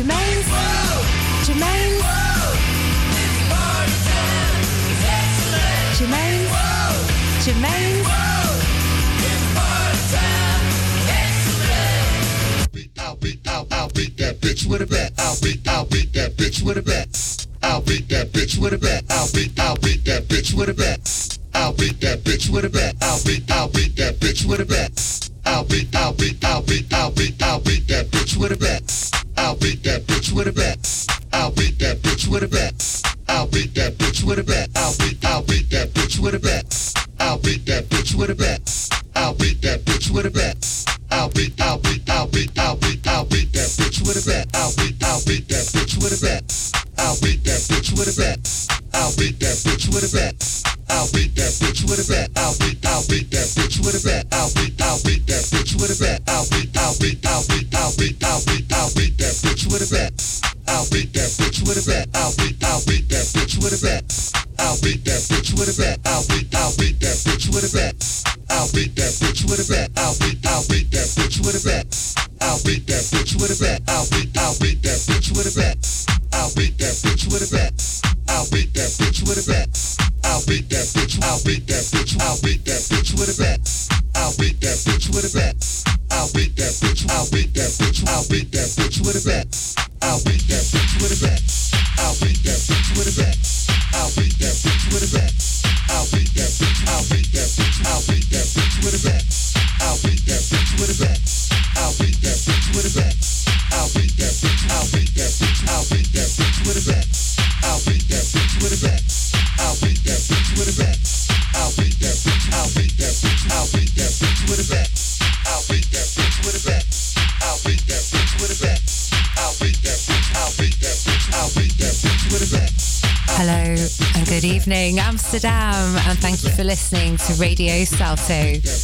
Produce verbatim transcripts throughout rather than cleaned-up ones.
Jermaine's. Jermaine's. Jermaine's. Jermaine's. I'll beat, I'll, I'll beat that bitch with a bat. I'll beat, I'll beat that bitch with a bat. I'll beat that bitch with a bat. I'll beat, I'll beat that bitch with a bat. I'll beat that bitch with a bat. I'll beat, I'll beat that bitch with a bat. I'll beat, I'll beat, I'll beat, I'll beat, I'll beat that bitch with a bat. I'll beat that bitch with a bat. I'll beat that bitch with a bat. I'll beat that bitch with a bat. I'll beat, I'll beat that bitch with a bat. I'll beat that bitch with a bat. I'll beat that bitch with a bat. I'll beat, I'll beat, I'll beat, I'll beat, I'll beat that bitch with a bat. I'll beat, I'll beat that bitch with a bat. I'll beat that bitch with a bat. I'll beat that bitch with a bat. I'll beat that bitch with a bat. I'll beat, I'll beat that bitch with a bat. I'll beat, I'll beat that bitch with a bat. I'll beat, I'll beat, I'll beat, I'll beat, I'll beat, I'll beat that bitch with a bat. I'll beat that bitch with a bat. I'll beat, I'll beat that bitch with a bat. I'll beat that bitch with a bat. I'll beat, I'll beat that bitch with a bat. I'll beat that bitch with a bat. I'll beat, I'll beat that bitch with a bat. I'll beat that bitch with a bat. I'll beat, I'll beat that bitch with a bat. I'll beat that bitch with a bat. I'll beat that bitch with a bat. I'll beat that bitch. I'll beat that bitch. I'll beat that bitch with a bat. I'll beat that bitch with a bat. I'll beat that bitch. I'll beat that bitch. I'll beat that bitch with a bat. I'll beat that bitch with a bat. I'll beat that bitch with a bat. I'll beat that bitch with a bat. I'll beat that bitch. I'll beat that bitch. I'll beat that bitch with a bat. I'll beat that bitch with a bat. I'll beat that bitch with a bat. I'll beat that bitch. I'll beat that bitch. I'll beat that bitch with a bat. I'll beat that bitch with a bat. I'll beat that bitch with a bat. I'll beat that bitch. I'll beat that bitch. I'll beat that bitch with a bat. I'll beat that bitch with a bat. I'll beat that bitch with a bat. I'll beat that bitch. I'll beat that bitch. I'll beat that bitch with a bat. Hello and good evening, Amsterdam, and thank you for listening to Radio Salto.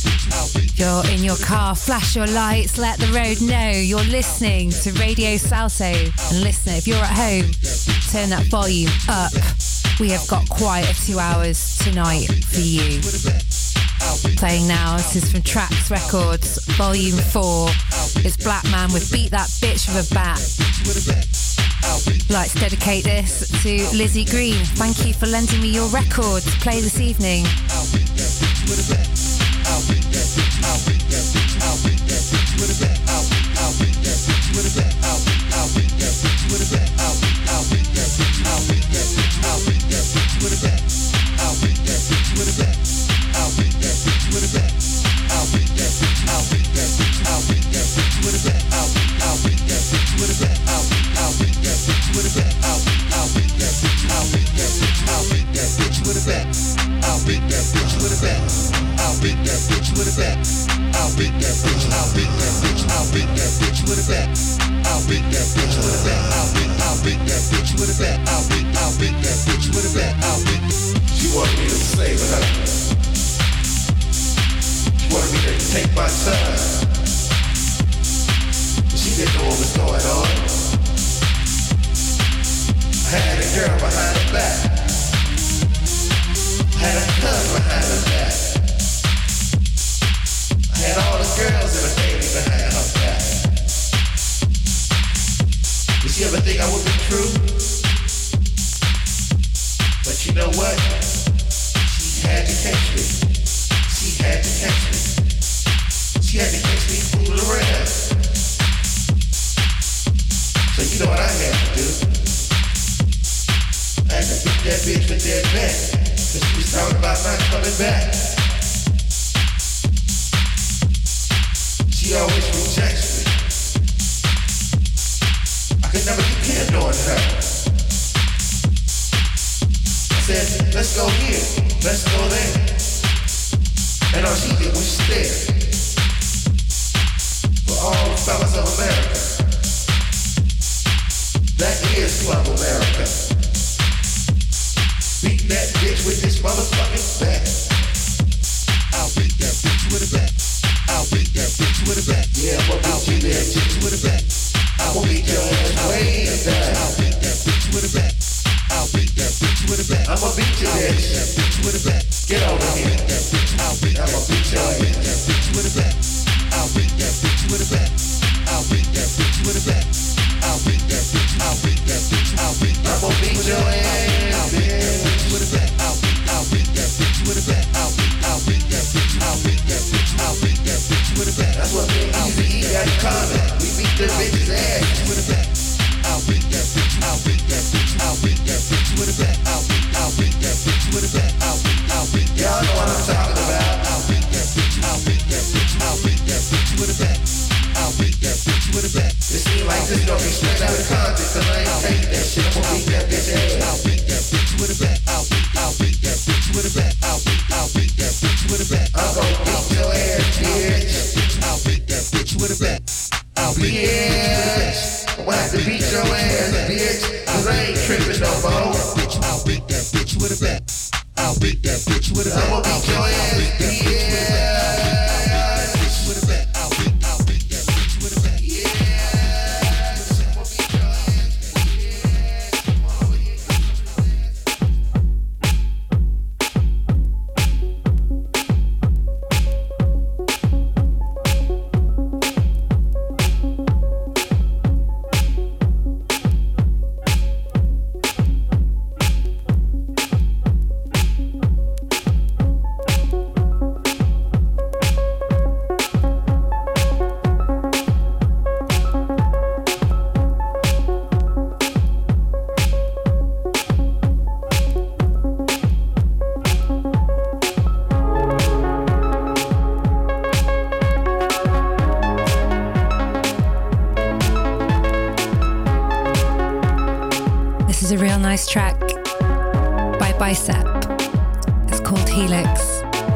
If you're in your car, flash your lights, let the road know you're listening to Radio Salto. And listener, if you're at home, turn that volume up. We have got quite a two hours tonight for you. Playing now, this is from Trax Records, Volume four. It's Black Man with Beat That Bitch with a Bat. I'd like to dedicate this to Lizzie Green. Thank you for lending me your record to play this evening. I'll beat that bitch with a bat. I'll beat that bitch with a bat. I'll beat that bitch. I'll beat that bitch. I'll beat that bitch with a bat. I'll beat that bitch with a bat. I'll beat. I'll beat that bitch with a bat. I'll beat. I'll beat that bitch with a bat. I'll beat. She wanted me to slave her. She wanted me to take my son. She didn't know what was going on. I had a girl behind her back. I had a cuz behind her back. I had all the girls in the baby behind her back. Did she ever think I would be true? But you know what? She had to catch me. She had to catch me. She had to catch me. comment. We beat the bitch's ass with a bat. I'll beat that bitch, I'll beat that bitch, I'll beat that bitch with a bat. I'll beat, I'll beat that bitch with a bat. I'll beat, I'll beat. Y'all know what I'm talking about. I'll beat that bitch, I'll beat that bitch, I'll beat that bitch with a bat. I'll beat that bitch with a bat. It seems like this gonna be straight out of context, cause I ain't take that shit. I'm gonna beat that bitch ass. I'll beat that bitch with a bat. I'll beat, I'll beat that bitch with a bat. I'll beat, I'll beat that bitch with a bat. I'm gonna beat your ass, bitch. I'll beat that bitch with a bat. I'll beat that bitch. I'm gonna have to beat your ass, bitch, cause I ain't tripping no more. I'll beat that bitch with a bat. I'll beat that bitch with a bat. I'm gonna beat your ass, bitch. Track by Bicep. It's called Helix.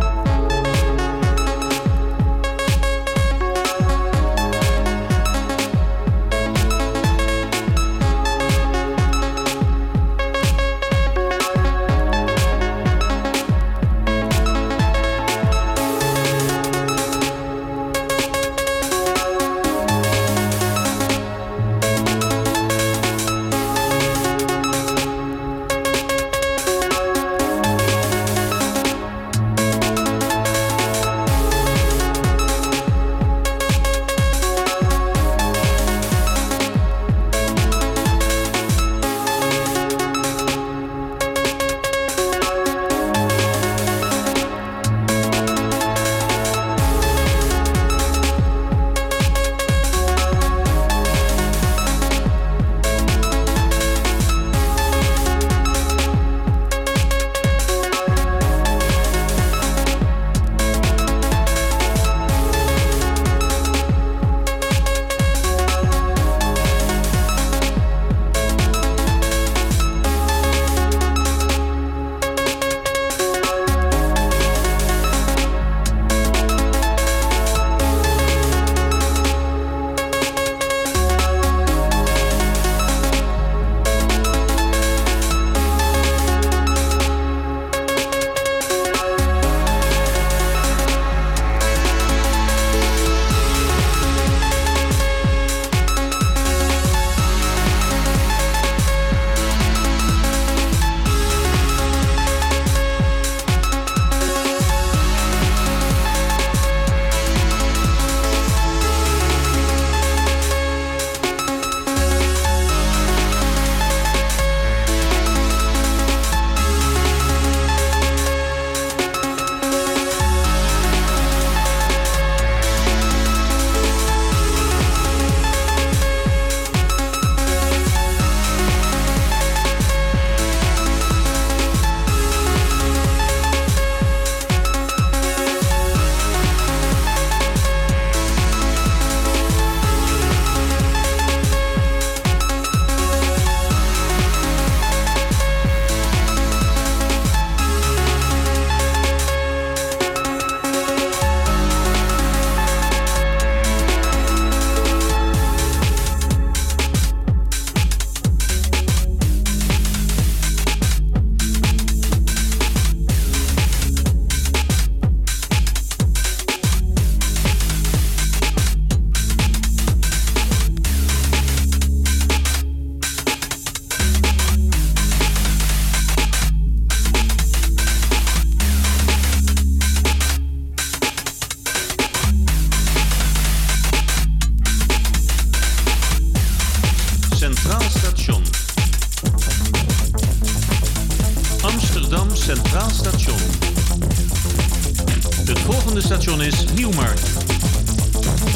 Centraal Station. Het volgende station is Nieuwmarkt. Water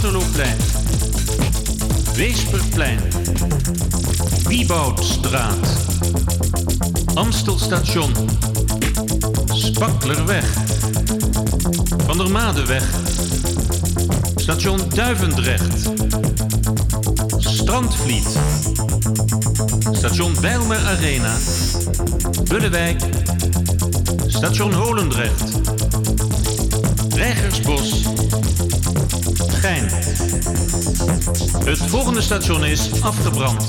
Waterlooplein, Weesperplein, Wieboudstraat, Amstelstation, Spaklerweg, Van der Madeweg, Station Duivendrecht, Strandvliet, Station Bijlmer Arena, Bullewijk, Station Holendrecht, Reigersbos, Gein. Het volgende station is afgebrand.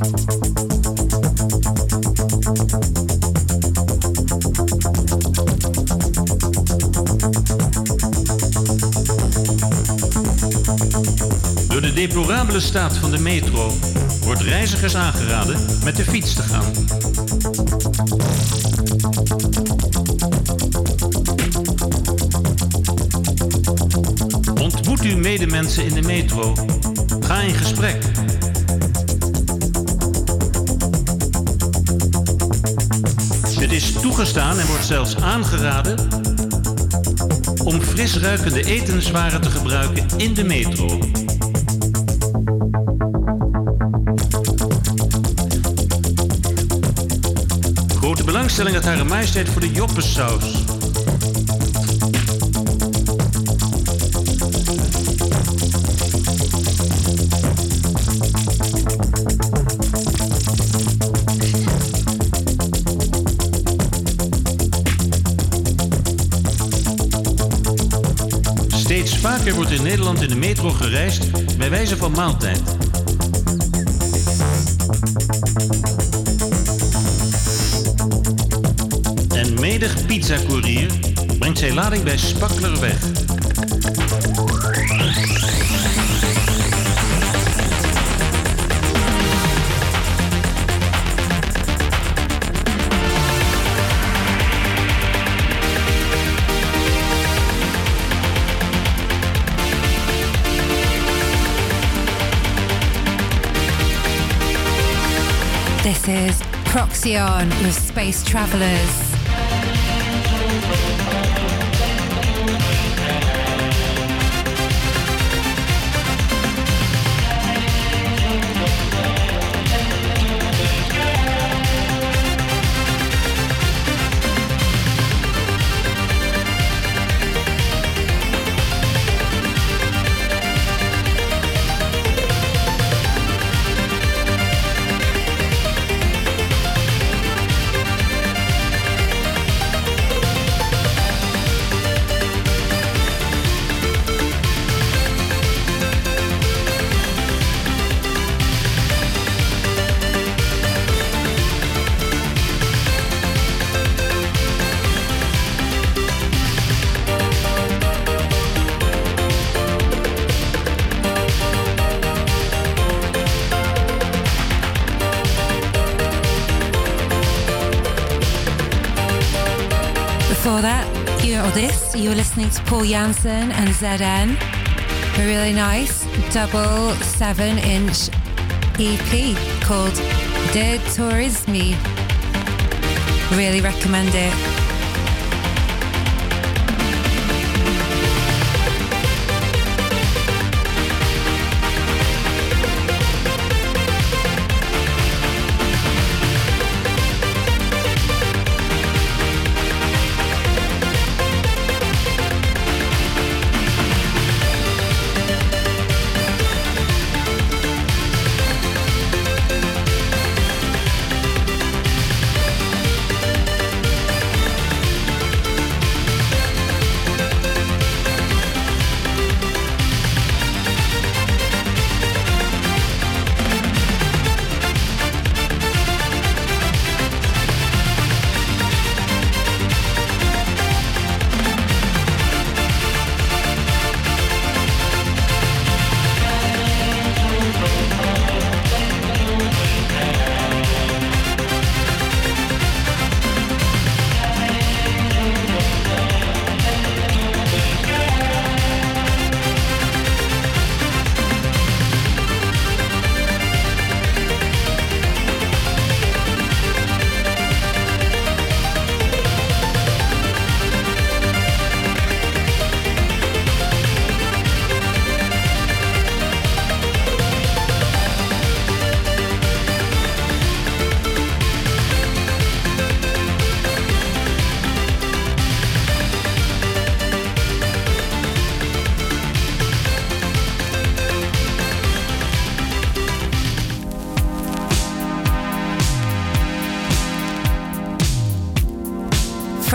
Door de deplorabele staat van de metro wordt reizigers aangeraden met de fiets te gaan. Ontmoet uw medemensen in de metro. Ga in gesprek. Het is toegestaan en wordt zelfs aangeraden om fris ruikende etenswaren te gebruiken in de metro. Grote belangstelling uit Hare Majesteit voor de joppensaus. Steeds vaker wordt in Nederland in de metro gereisd bij wijze van maaltijd. En menig pizzacourier brengt zijn lading bij Spaklerweg. This is Proxion with Space Travelers. Before that, you or this, you were listening to Paul Jansen and Z N. A really nice double seven inch E P called De Tourisme. Really recommend it.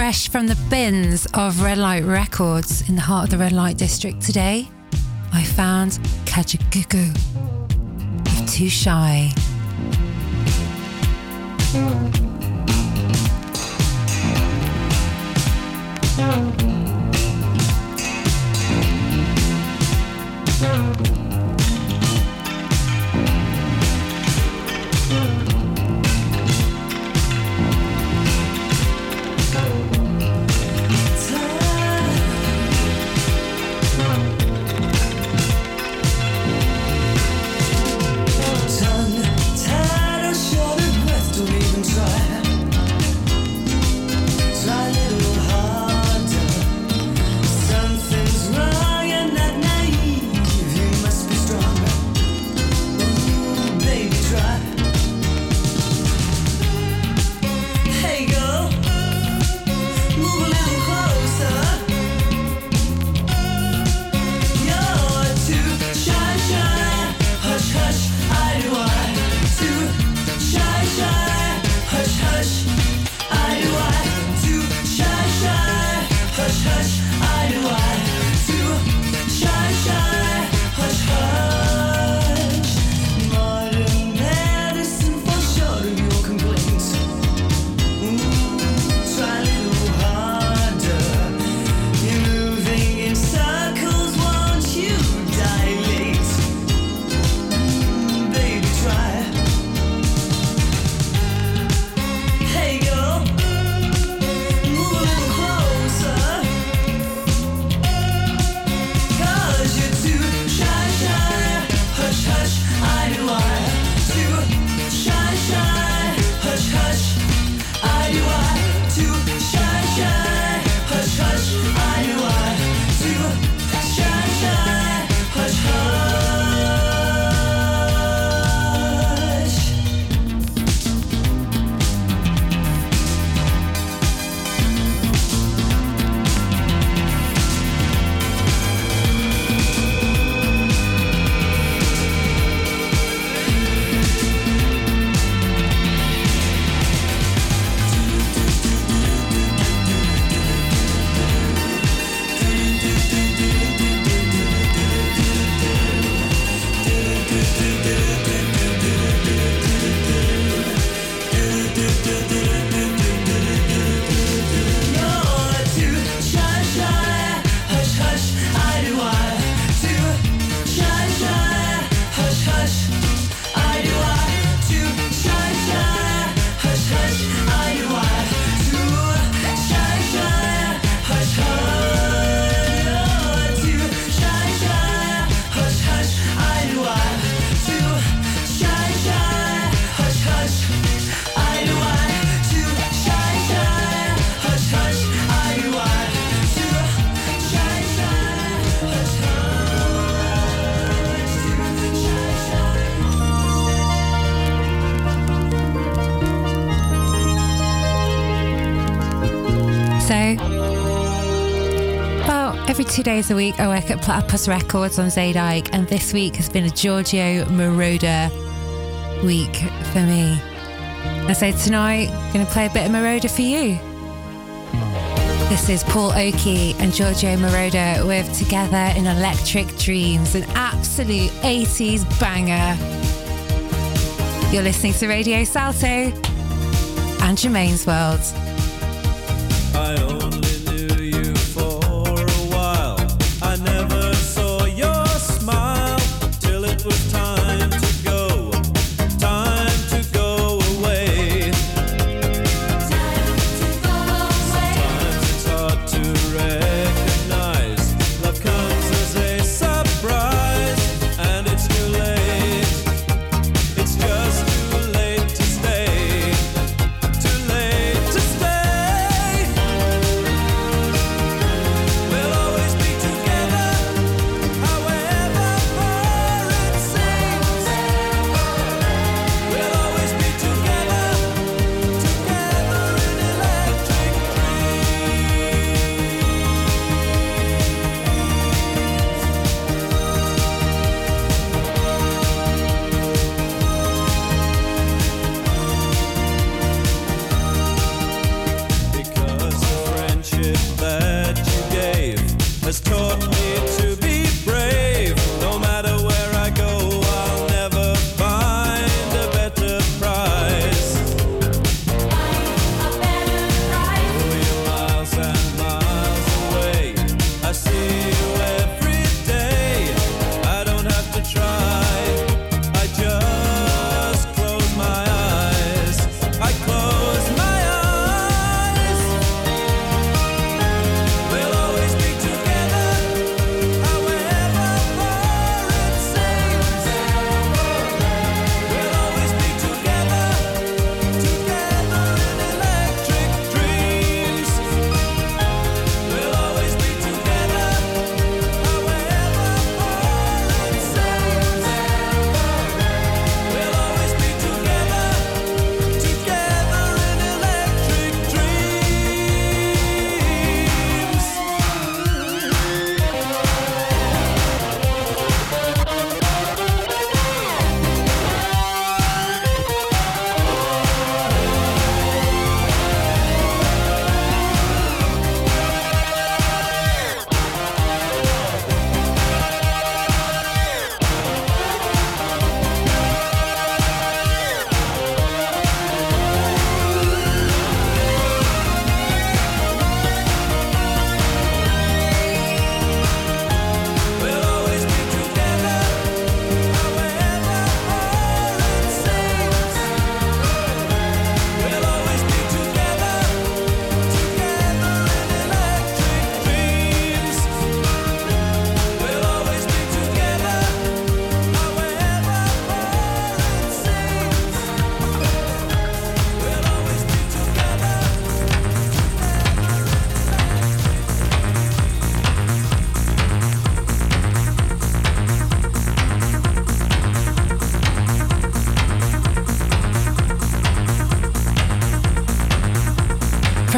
fresh from the bins of Red Light Records in the heart of the Red Light District today, I found Kajagoogoo with Too Shy. Two days a week I work at Platypus Records on Zaydike, and this week has been a Giorgio Moroder week for me. And so tonight I'm going to play a bit of Moroder for you. This is Paul Oakey and Giorgio Moroder with Together in Electric Dreams, an absolute eighties banger. You're listening to Radio Salto and Germaine's World. I only knew you for a while. I never saw your smile till it was time to go, time to go away. Time to go away. Sometimes it's hard to recognize. Love comes as a surprise, and it's too late. It's just too late to stay. Too late to stay.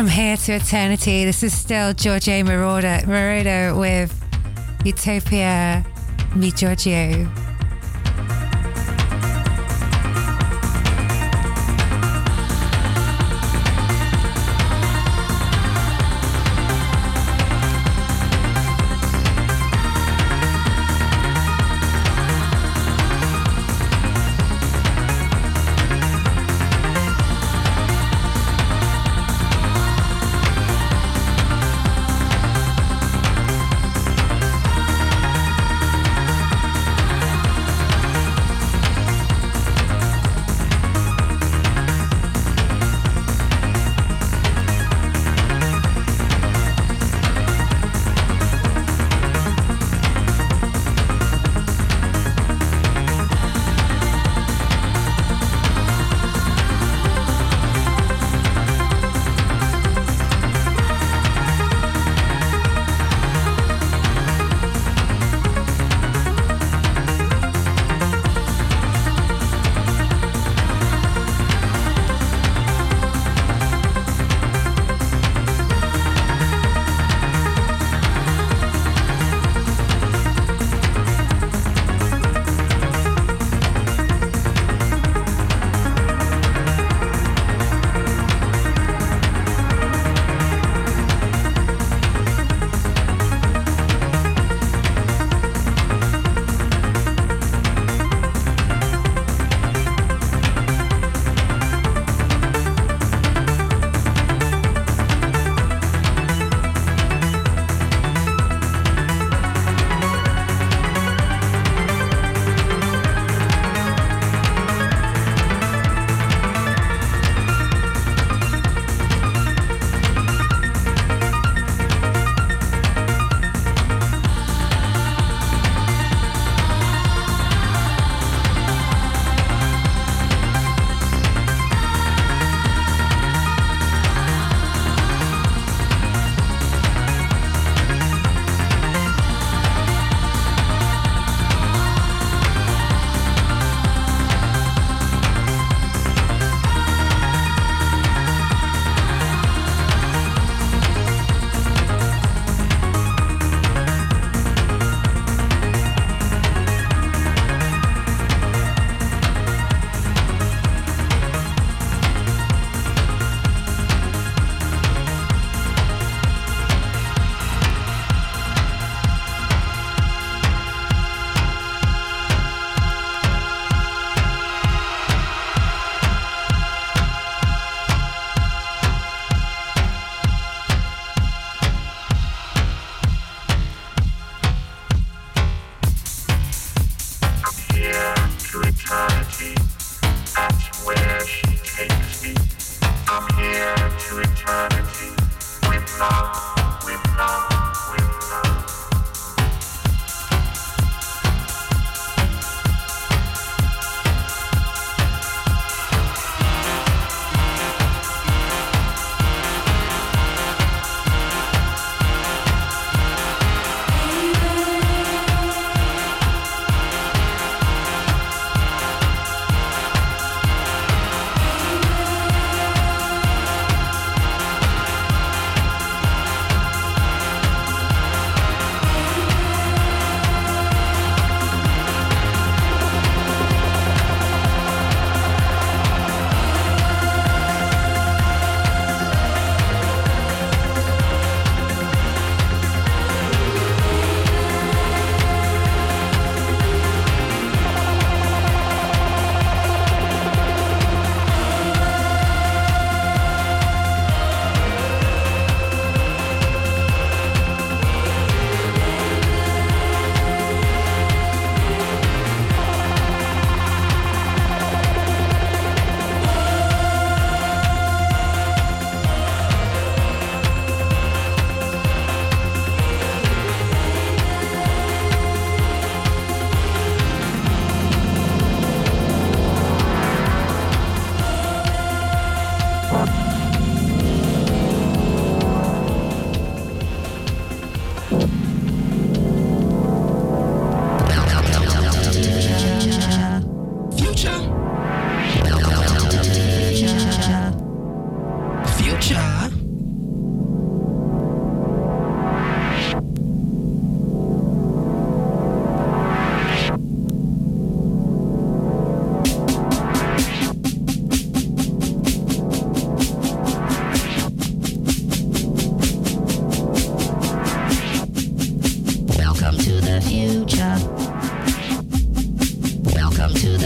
From Here to Eternity. This is still Giorgio Moroder, Moroder with Utopia Mi Giorgio.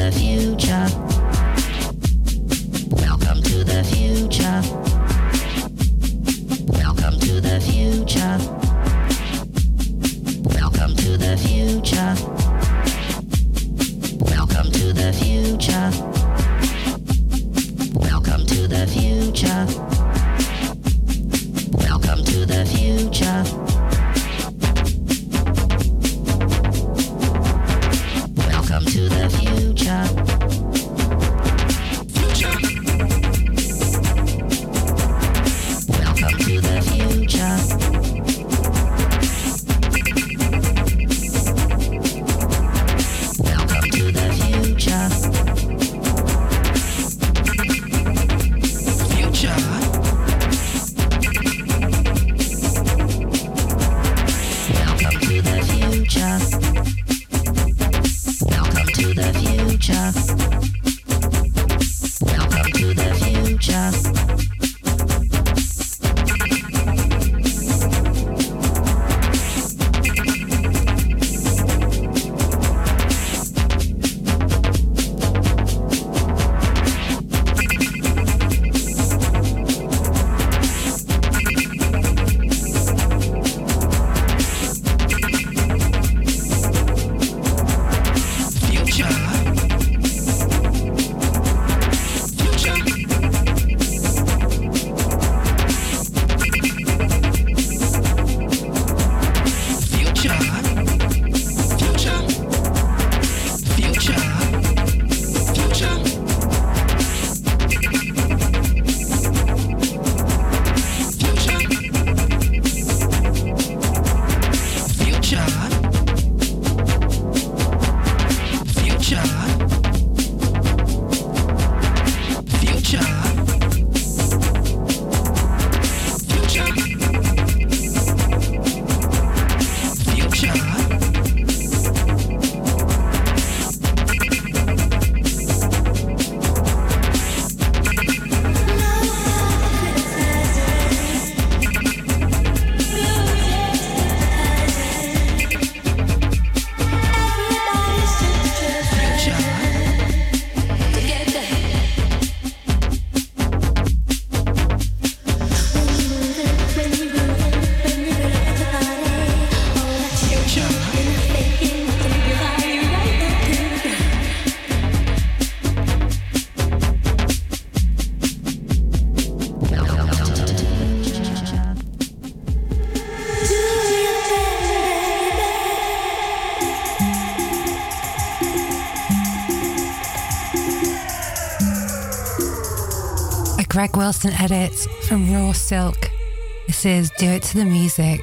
the future. Welcome to the future. Welcome to the future. Welcome to the future. Welcome to the future. Welcome to the future. Welcome to the future. Welcome to the future. Future. Welcome to the future. Welcome to the future. Future. Welcome to the future. Welcome to the future. Welcome to the future. Greg Wilson edit from Raw Silk. This is Do It to the Music.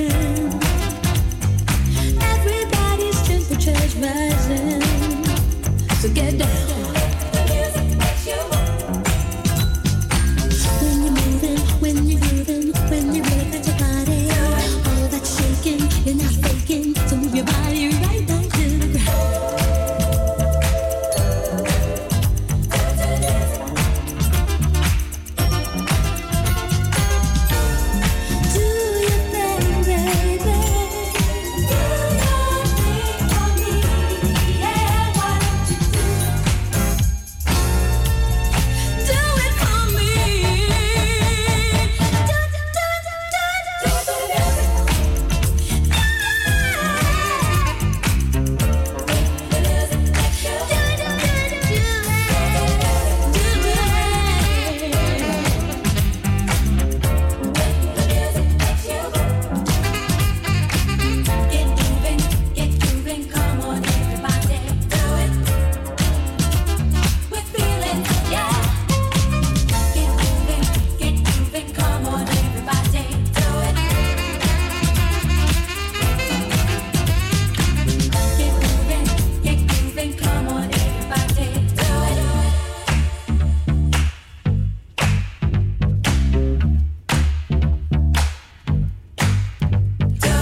Everybody's temperature's rising. So get down. When you're moving, when you're grooving, when you really got your body, all that shaking, you're not faking. So move your body right down to the ground. Do your thing, baby. Do your thing for me. Yeah, why don't you do do it for me? Do do do do do do do Get moving, get moving, come on everybody, do it. We're feeling, yeah. Get moving, get moving, come on everybody, do it. Get moving, get moving, come on everybody, do it. Do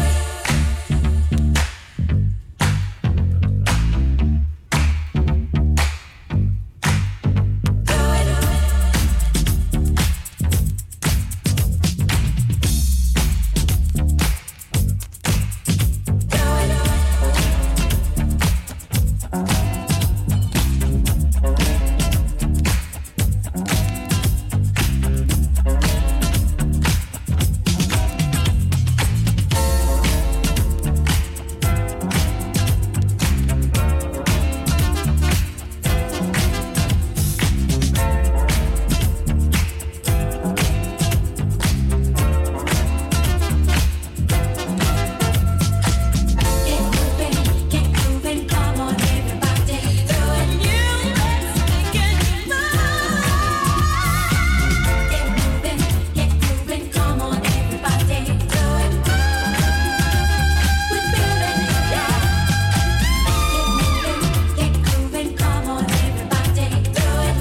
Get moving, get moving, come on everybody, do it. You let's make it move. Get moving, get moving, come on everybody, do it. We're feeling it, yeah. Get moving, get moving, come on everybody, do it.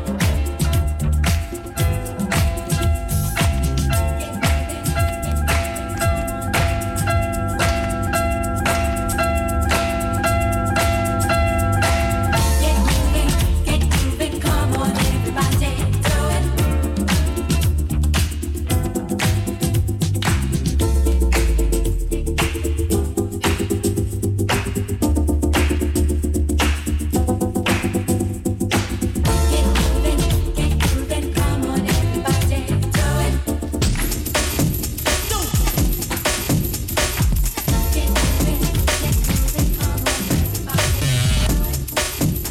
Get moving, get moving, come on everybody, do it. Get moving, get moving, come on everybody, do it. Get moving, get moving, come on everybody.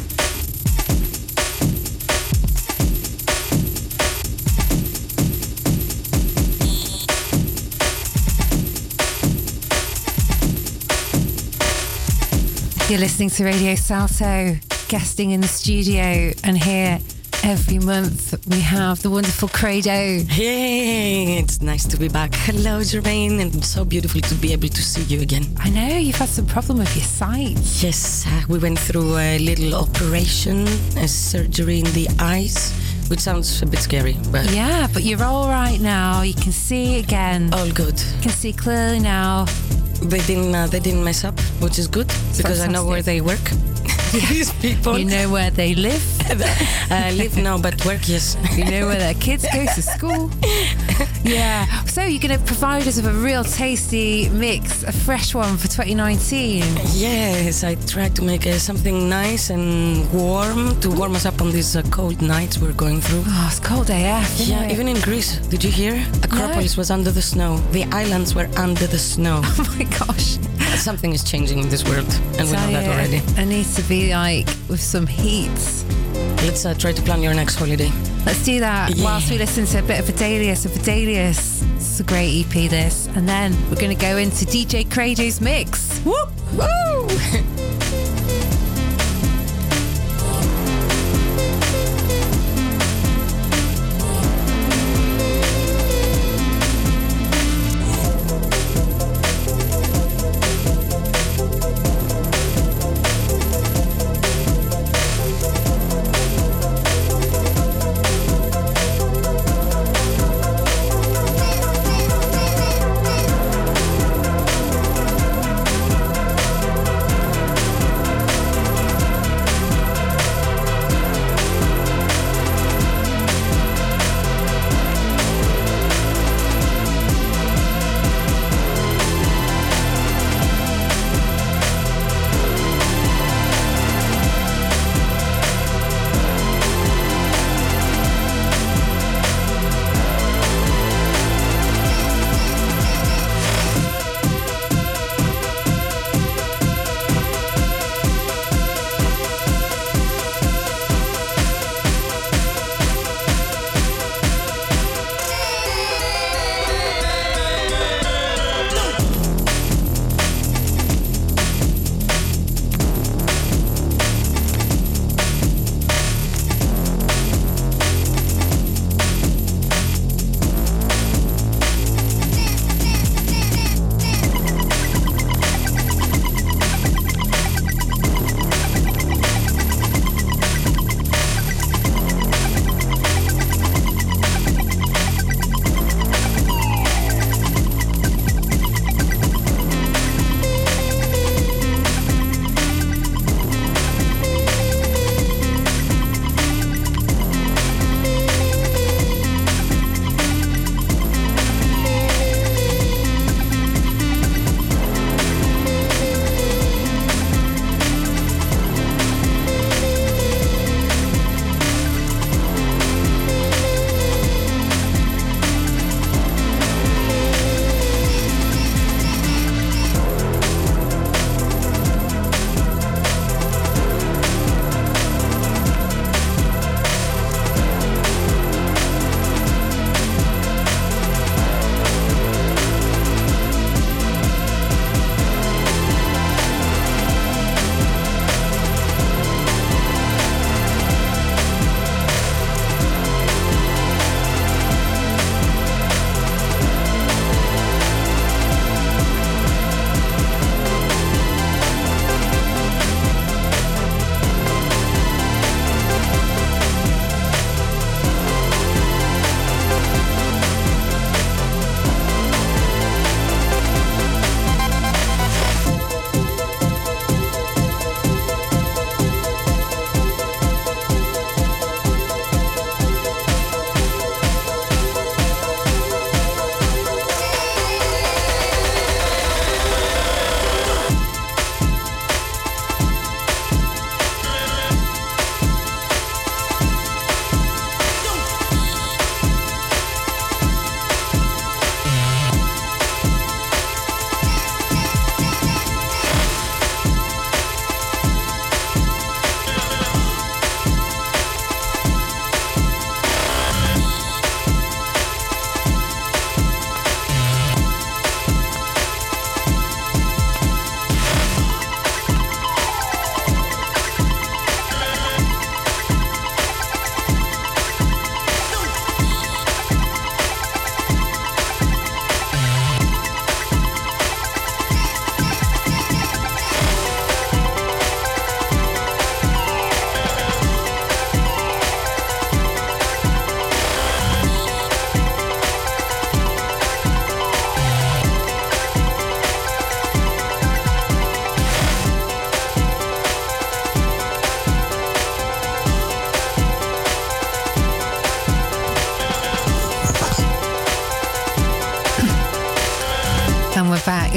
You're listening to Radio Salto, guesting in the studio, and here every month we have the wonderful Credo. Hey, it's nice to be back. Hello, Jermaine, and it's so beautiful to be able to see you again. I know you've had some problem with your sight. Yes, uh, we went through a little operation, a surgery in the eyes, which sounds a bit scary, but Yeah, but you're all right now. You can see again. all good. You can see clearly now. They didn't, uh, they didn't mess up, which is good because I know where they work. These people. You know where they live. uh, live now, but work, yes. You know where their kids go to school. Yeah. So you're going to provide us with a real tasty mix, a fresh one for twenty nineteen. Yes, I tried to make uh, something nice and warm to warm us up on these uh, cold nights we're going through. Oh, it's cold A F, isn't Yeah, it? even in Greece. Did you hear? Acropolis was under the snow. The islands were under the snow. Oh my gosh. Something is changing in this world, and we know Tell that you, already. I need to be like with some heat. Let's uh, try to plan your next holiday. Let's do that Yeah. whilst we listen to a bit of Fidelius. So Fidelius, it's a great E P this. And then we're going to go into D J Credo's mix. Woo! Woo!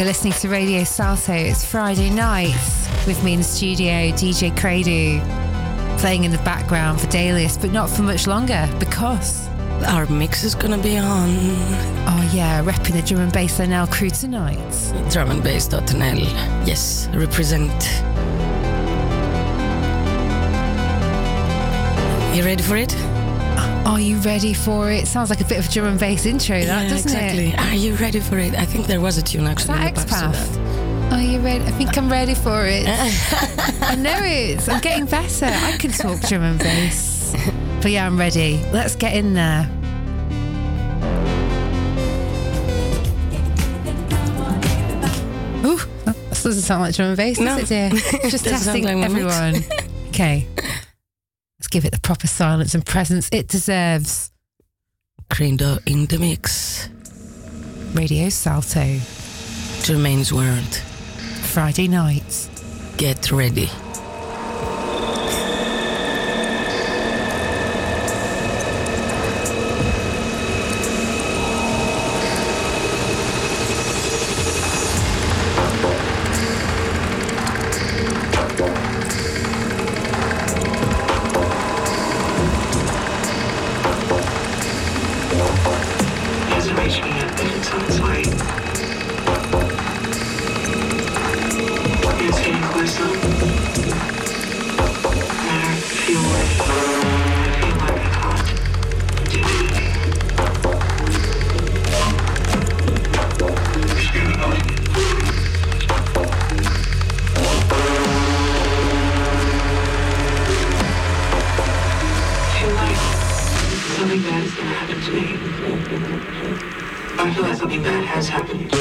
You're listening to Radio Salto. It's Friday night with me in the studio, D J Credu, playing in the background for Dalius, but not for much longer because our mix is gonna be on. Oh yeah, repping the drum and bass N L crew tonight. drum and bass dot N L. Yes, represent. You ready for it? Are you ready for it? Sounds like a bit of a drum and bass intro, that, yeah, doesn't exactly. it? Are you ready for it? I think there was a tune Is actually. that in the past to X-Path? Are you ready? I think I'm ready for it. I know it. I'm getting better. I can talk drum and bass. But yeah, I'm ready. Let's get in there. Ooh, that doesn't sound like drum and bass, No. does it, dear? Just Doesn't testing sound like my mix. everyone. Okay. Let's give it the proper silence and presence it deserves. Credo in the mix. Radio Salto, Jermaine's World. Friday nights. Get ready. Hasn't reached me yet, but it's on its way. It's getting closer. And I feel like, I feel like I can't do anything. It's getting annoying. I feel like something bad is gonna happen to me. I feel like something bad has happened.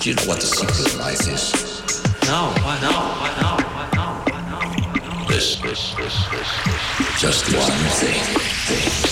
Do you know what the secret of life is? No, why no, why no, why no, why no, why no? This, this, this, this, this. Just one thing. thing.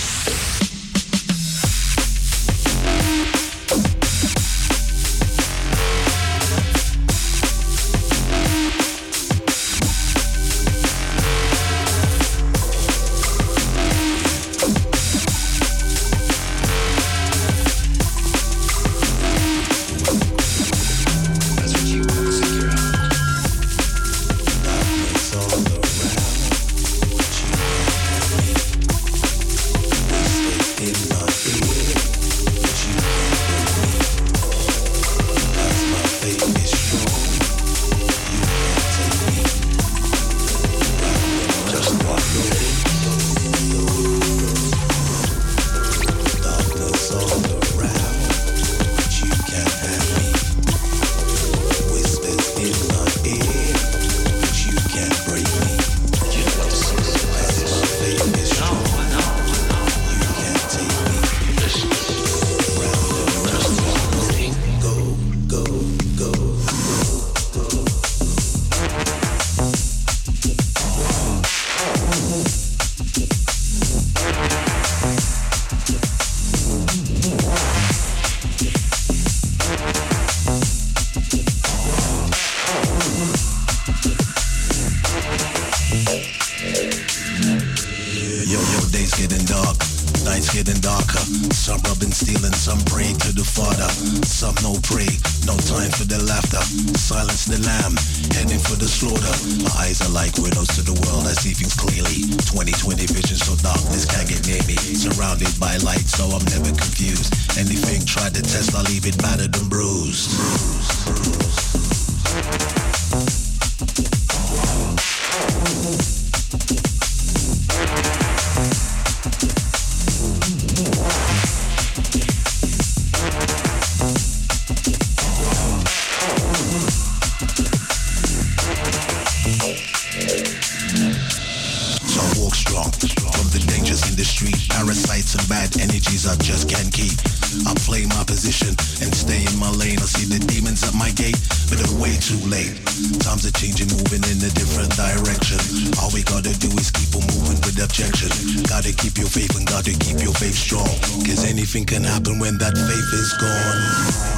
Can happen when that faith is gone.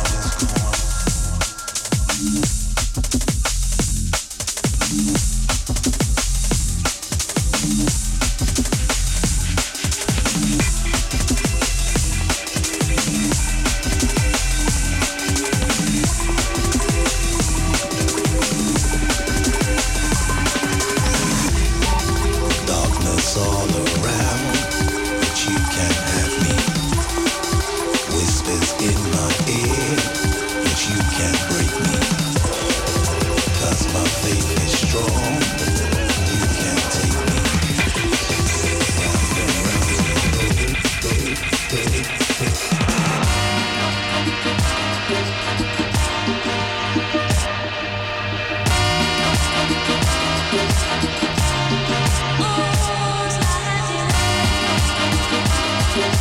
Oh,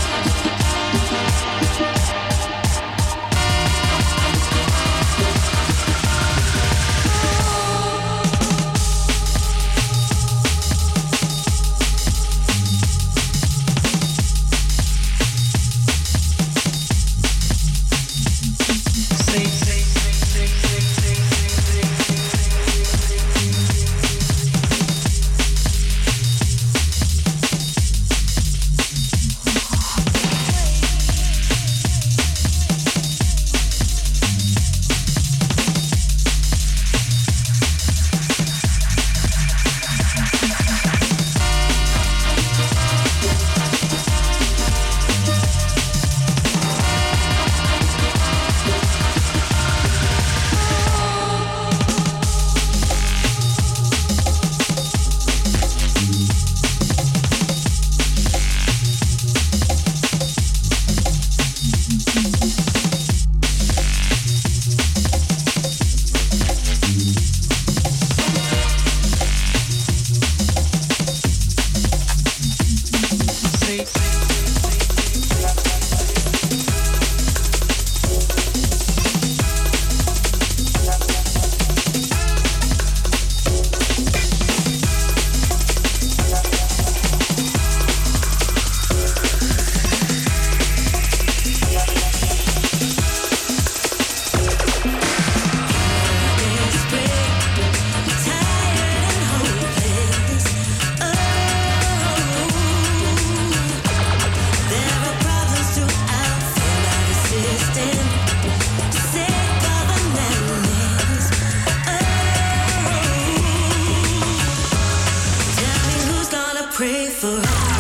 pray for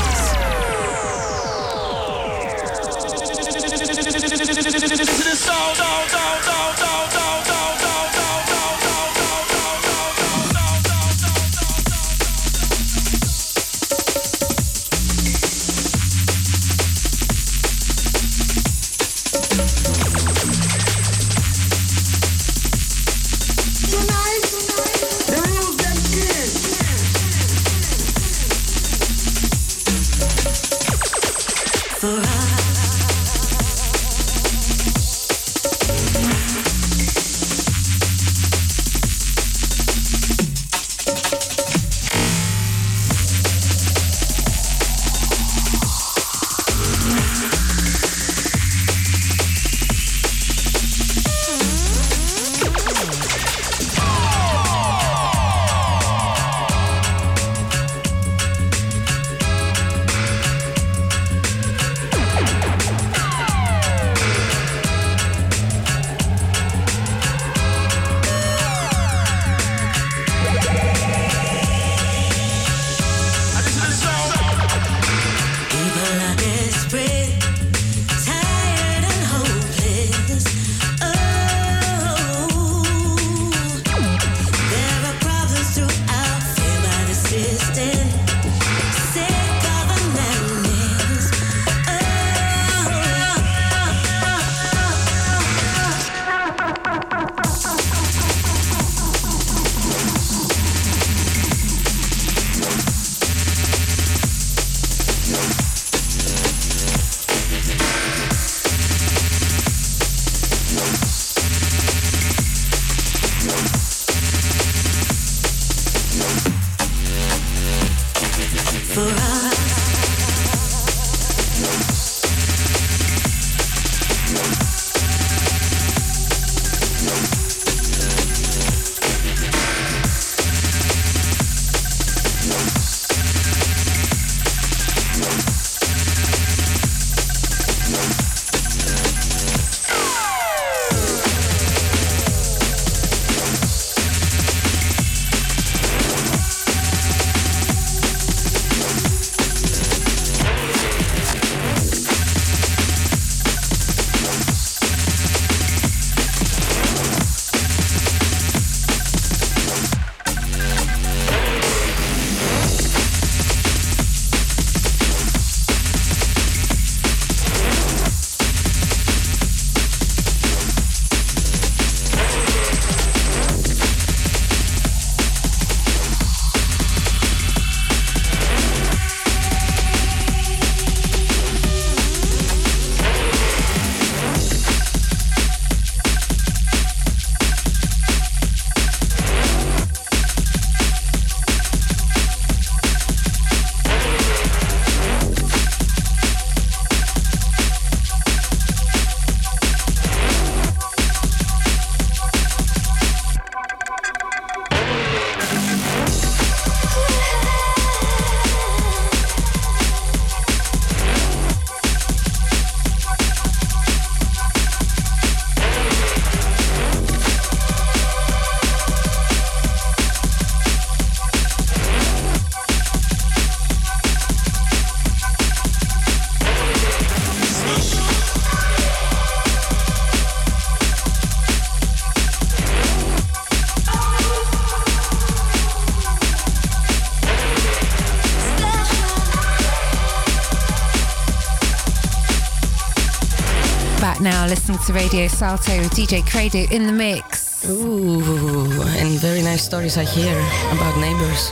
back now listening to Radio Salto with D J Credo in the mix. Ooh, and very nice stories I hear about neighbors.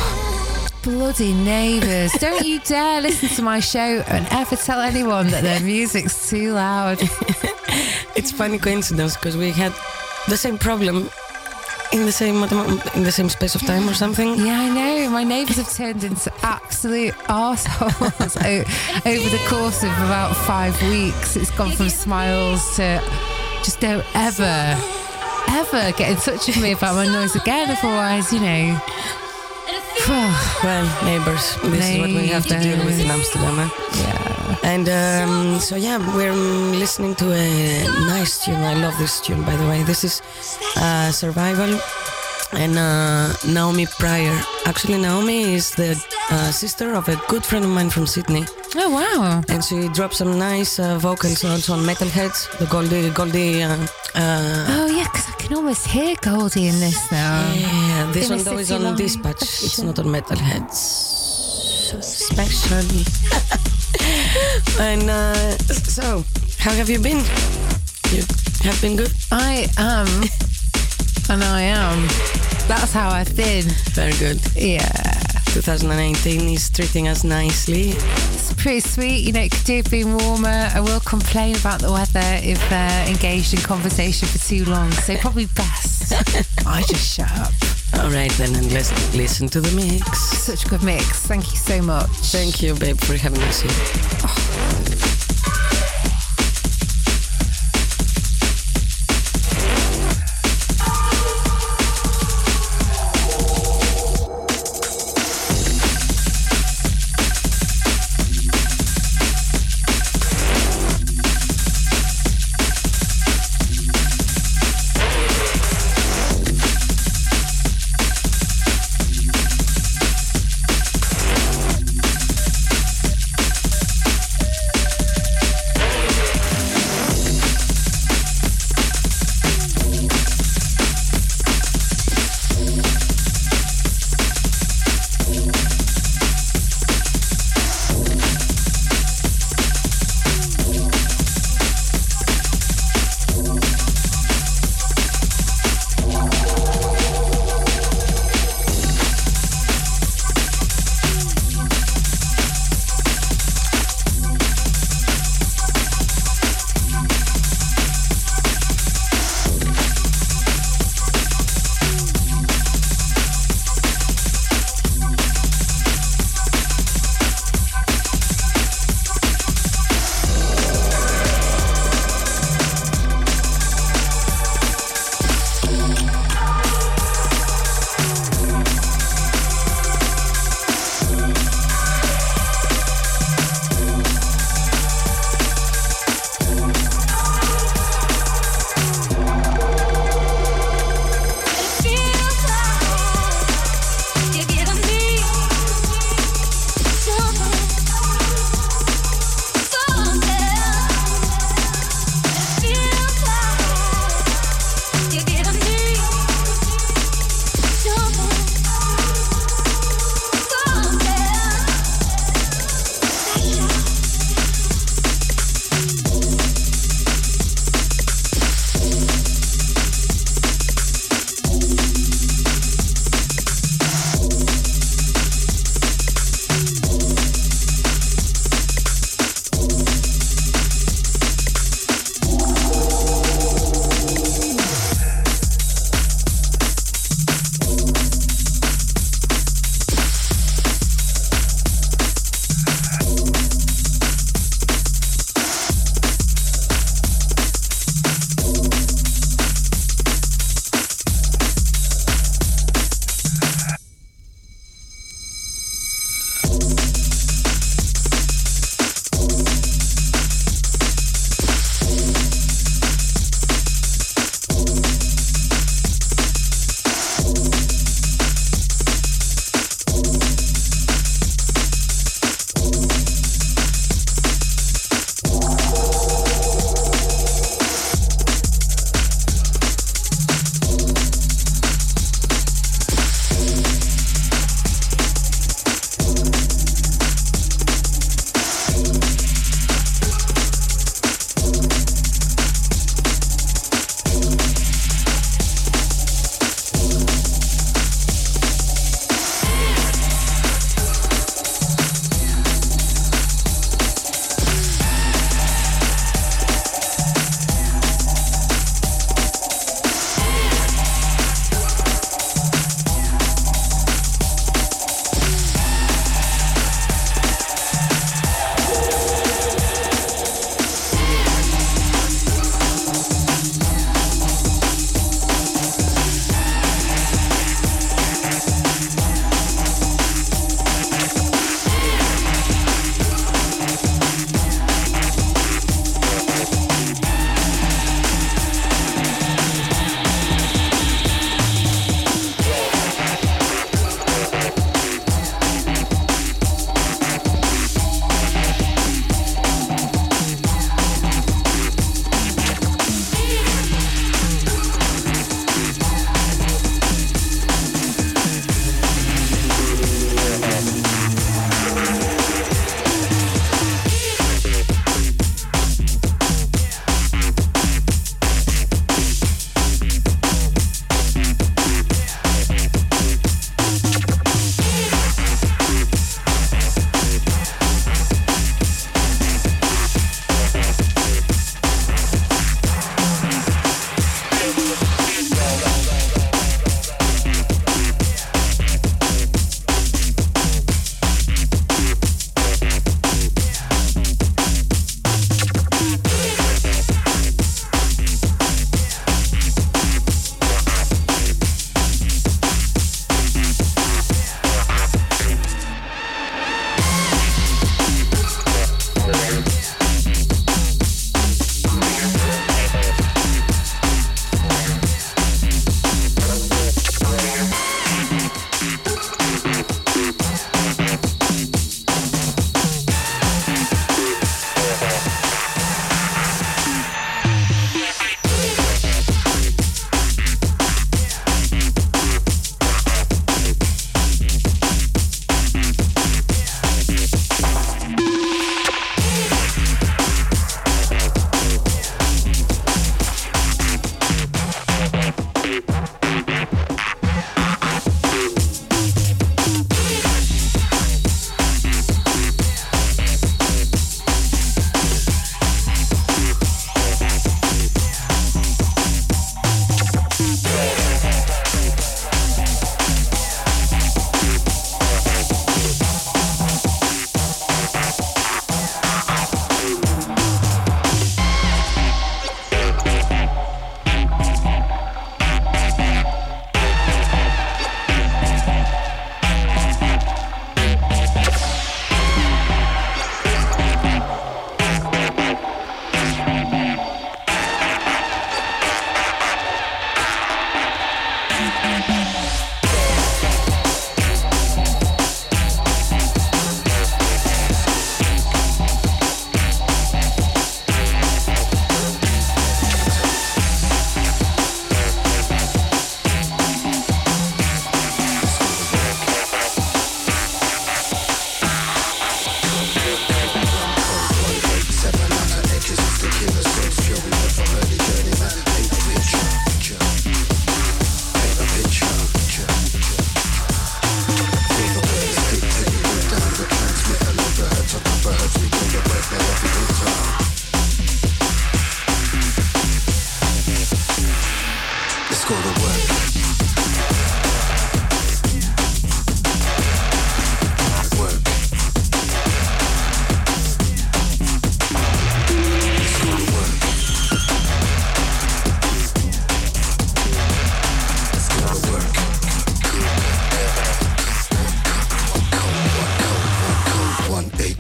Oh, bloody neighbours. Don't you dare listen to my show and ever tell anyone that their music's too loud. It's funny coincidence because we had the same problem in the same in the same space of time or something. Yeah, I know. My neighbours have turned into absolute arseholes o- over the course of about five weeks. It's gone from smiles to just don't ever, ever get in touch with me about my noise again. Otherwise, you know. Well, neighbours. This neighbours. is what we have to deal with in Amsterdam. Eh? Yeah. And um, so yeah, we're listening to a nice tune. I love this tune, by the way. This is uh, Survival and uh, Naomi Pryor. Actually, Naomi is the uh, sister of a good friend of mine from Sydney. Oh, wow. And she dropped some nice uh, vocals also on Metalheads, the Goldie, Goldie. Uh, uh, Oh, yeah, because I can almost hear Goldie in this now. yeah, this In one a though is city on long Dispatch. It's not on Metalheads. Special. And uh, so, how have you been? You have been good? I am, and I am. That's how I've been. Very good. Yeah. twenty eighteen is treating us nicely. It's pretty sweet. You know, it could do have been warmer. I will complain about the weather if uh, engaged in conversation for too long. So probably best I just shut up. All right then, and let's listen to the mix. Such a good mix. Thank you so much. Thank you, babe, for having us here.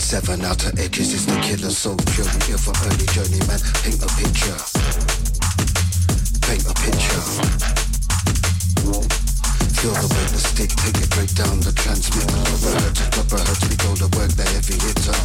seven outer edges is the killer soul pure. We here for early journey, man. Paint a picture. Paint a picture. Feel the weight, the stick, take it break down the transmitter. Upper hertz, upper hertz, we go to work, the heavy hitter.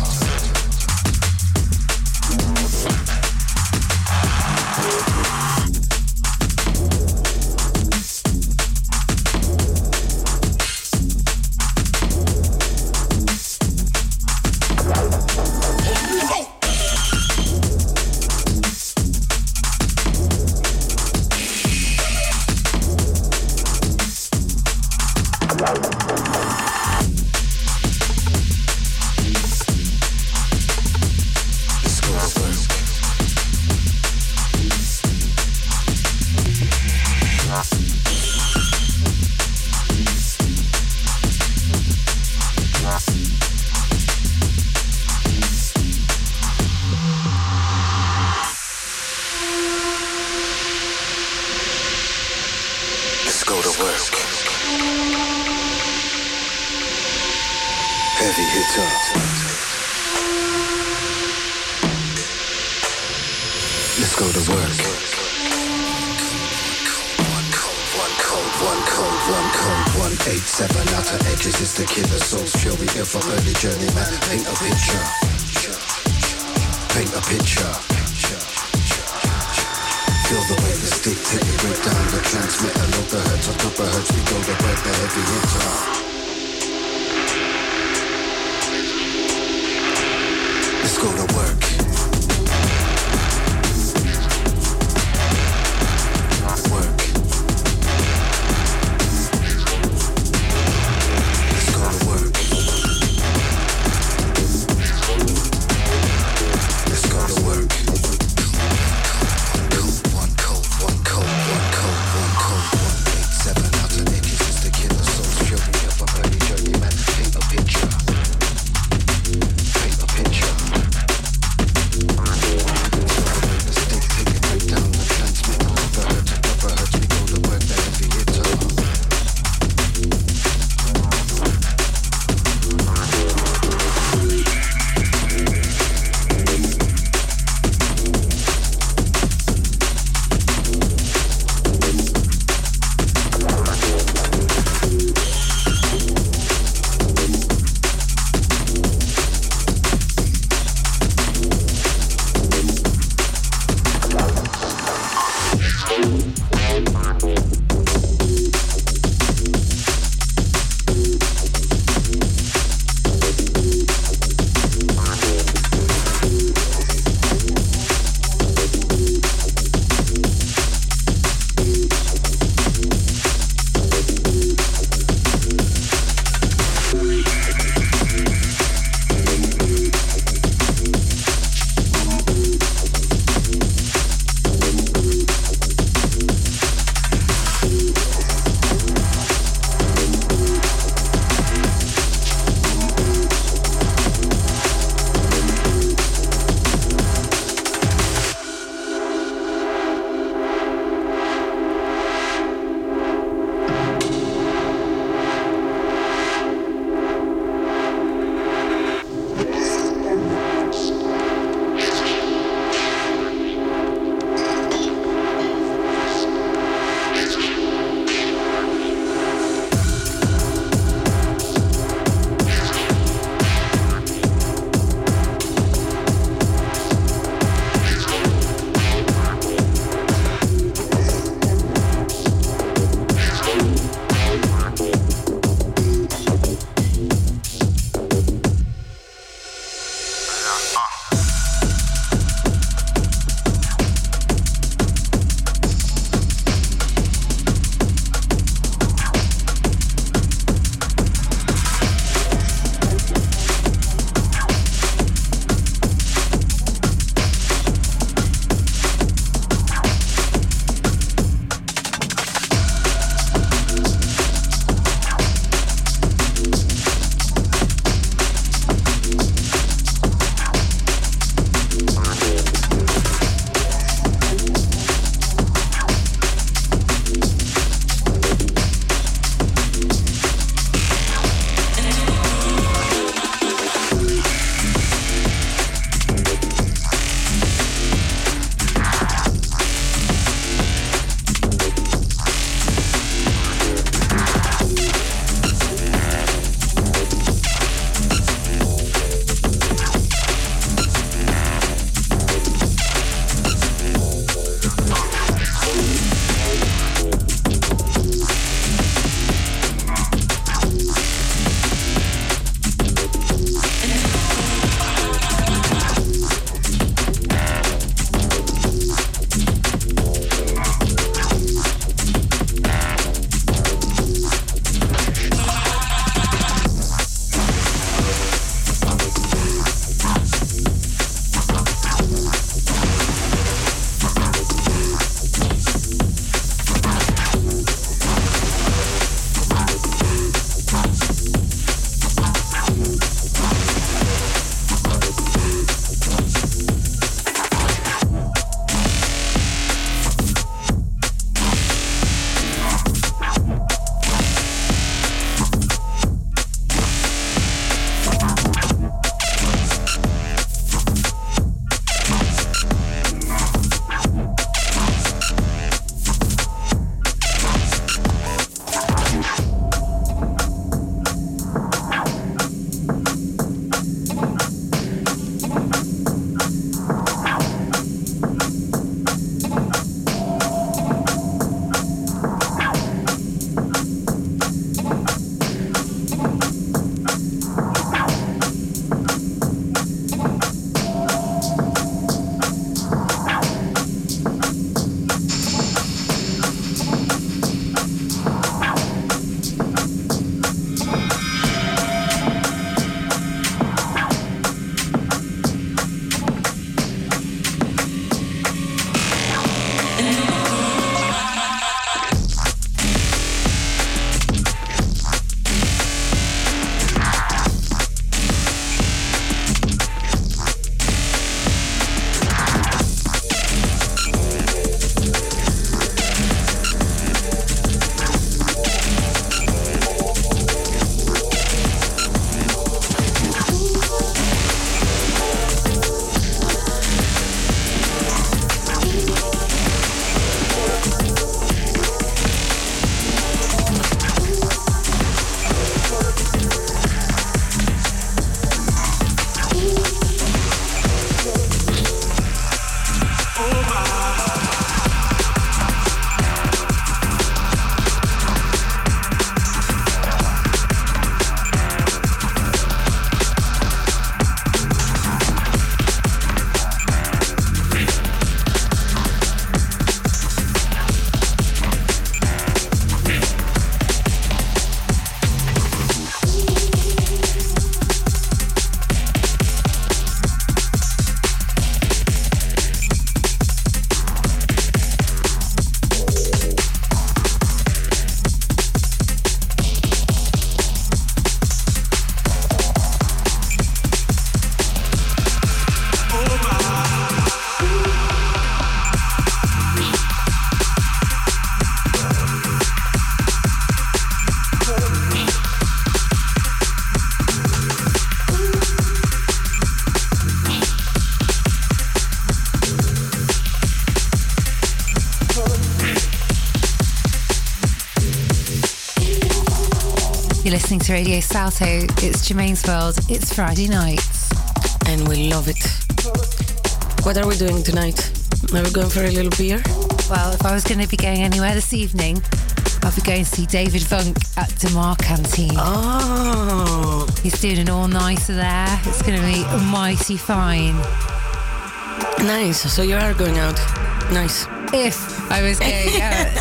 listening to Radio Salto. It's Jermaine's World. It's Friday night. And we love it. What are we doing tonight? Are we going for a little beer? Well, if I was going to be going anywhere this evening, I'll be going to see David Funk at Demar Canteen. Oh. He's doing an all-nighter there. It's going to be mighty fine. Nice. So you are going out. Nice. If I was going out,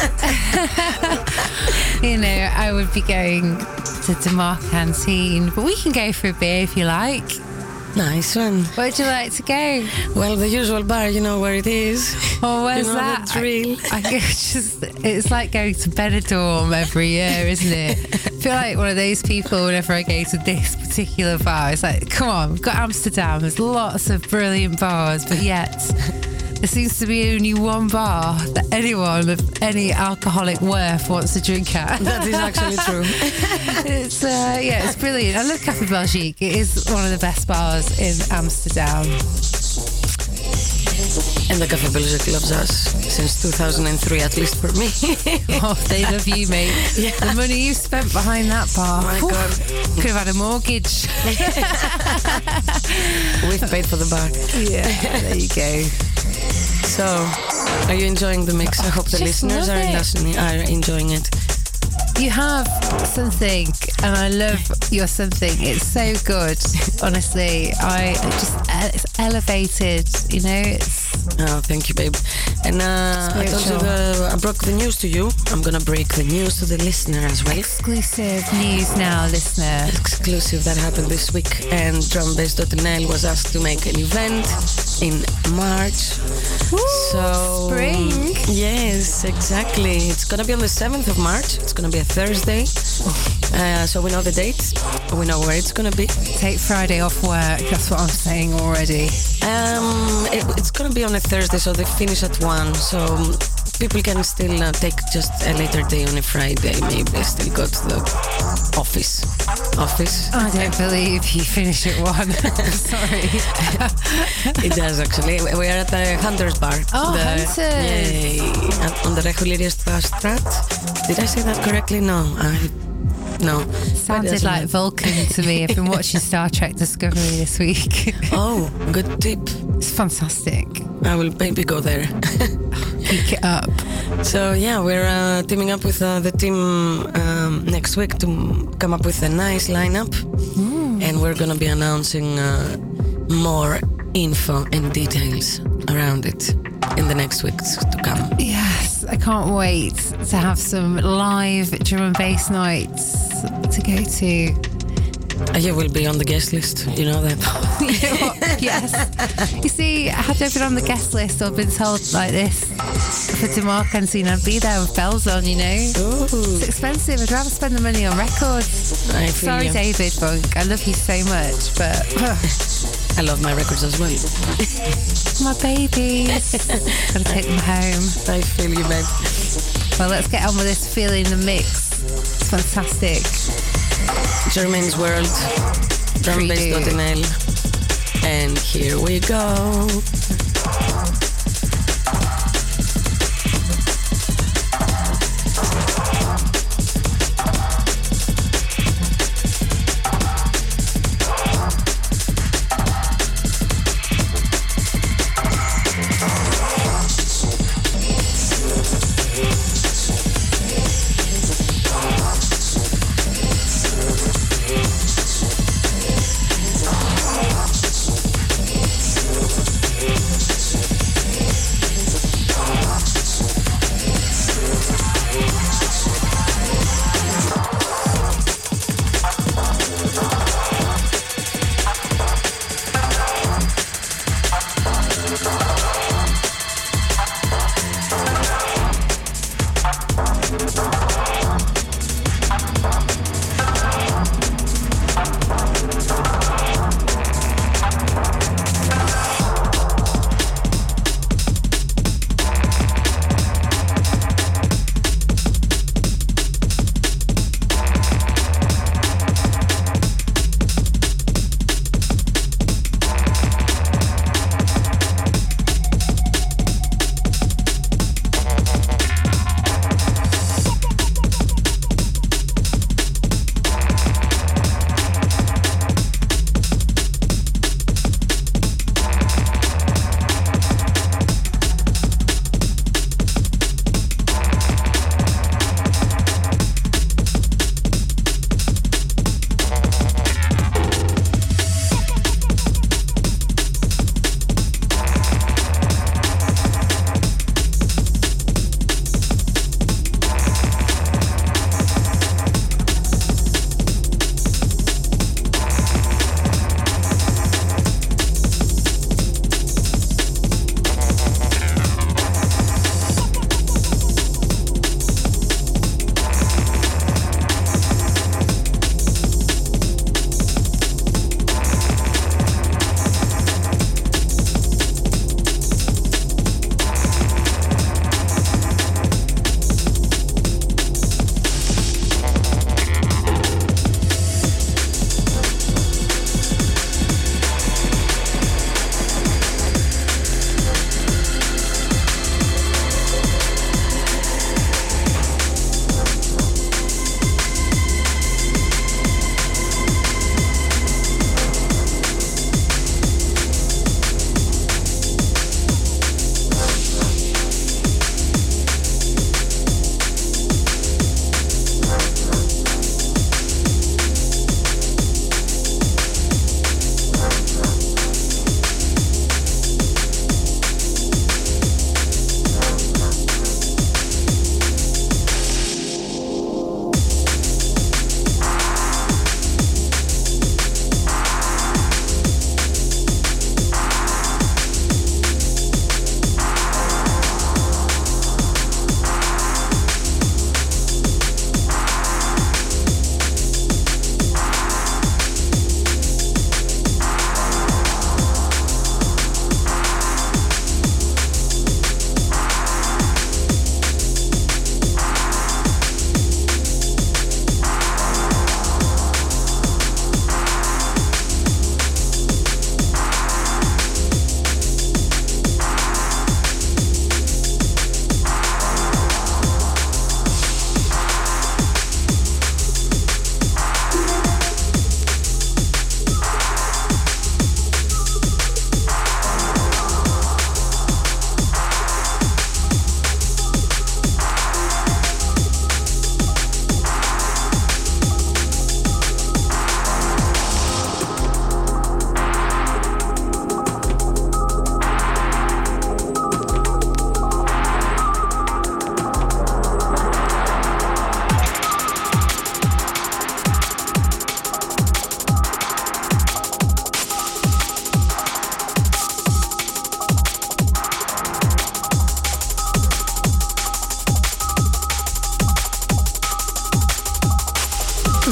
you know, I would be going to Demar Canteen. But we can go for a beer if you like. Nice one. Where would you like to go? Well, the usual bar, you know where it is. Oh, where's you know that? The drill. I, I just, it's like going to Benidorm every year, isn't it? I feel like one of those people whenever I go to this particular bar. It's like, come on, we've got Amsterdam. There's lots of brilliant bars, but yet there seems to be only one bar that anyone of any alcoholic worth wants to drink at. That is actually true. It's uh, yeah, it's brilliant. I love Café Belgique. It is one of the best bars in Amsterdam. And the Café Belgique loves us since two thousand three, at least for me. Oh, they love you, mate. Yeah. The money you spent behind that bar. Oh my Whew, God. could have had a mortgage. We've paid for the bar. Yeah, there you go. So, are you enjoying the mix? I hope the Just listeners love are, it. listening, are enjoying it. You have something, and I love your something. It's so good, honestly. I just, it's elevated, you know. It's Oh, thank you, babe. And uh, I told you the, I broke the news to you. I'm gonna break the news to the listener as well. exclusive news now, listener. Exclusive that happened this week, and drumbase dot n l was asked to make an event in March. Woo, so spring. Yes, exactly. It's gonna be on the seventh of March. It's gonna be a Thursday. Uh, so we know the date. We know where it's gonna be. Take Friday off work. That's what I'm saying already. Um, it, it's gonna be on a Thursday, so they finish at one. So people can still uh, take just a later day on a Friday. Maybe they still go to the office. Office. I don't believe you finish at one. Sorry. It does actually. We are at the Hunters Bar. Oh, the, Hunters. Yay. At- On the Regulierstraat. Did I say that correctly? No. I, no. Sounded doesn't like matter. Vulcan to me. I've been watching Star Trek Discovery this week. Oh, good tip. It's fantastic. I will maybe go there. Pick it up. So yeah, we're uh, teaming up with uh, the team um, next week to come up with a nice lineup, and we're gonna be announcing uh, more info and details around it in the next weeks to come. Yes, I can't wait to have some live drum and bass nights to go to. Uh, you will be on the guest list, you know that. You know what? Yes. You see, had I been on the guest list or been told like this for Demar Canteen, I'd be there with bells on, you know. Ooh. It's expensive. I'd rather spend the money on records. I feel Sorry, you. David Funk. I love you so much, but I love my records as well. my babies. Gotta take them home. I feel you, babe. Well, let's get on with this feeling the mix. It's fantastic. Jermaine's World, drumbase dot n l, and here we go.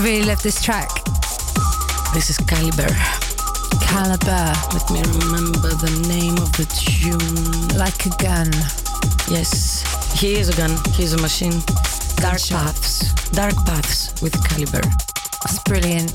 really love this track. This is Caliber. Caliber. Let me remember the name of the tune. Like a gun. Yes, he is a gun. He's a machine. Dark Paths. Dark Paths with Caliber. That's brilliant.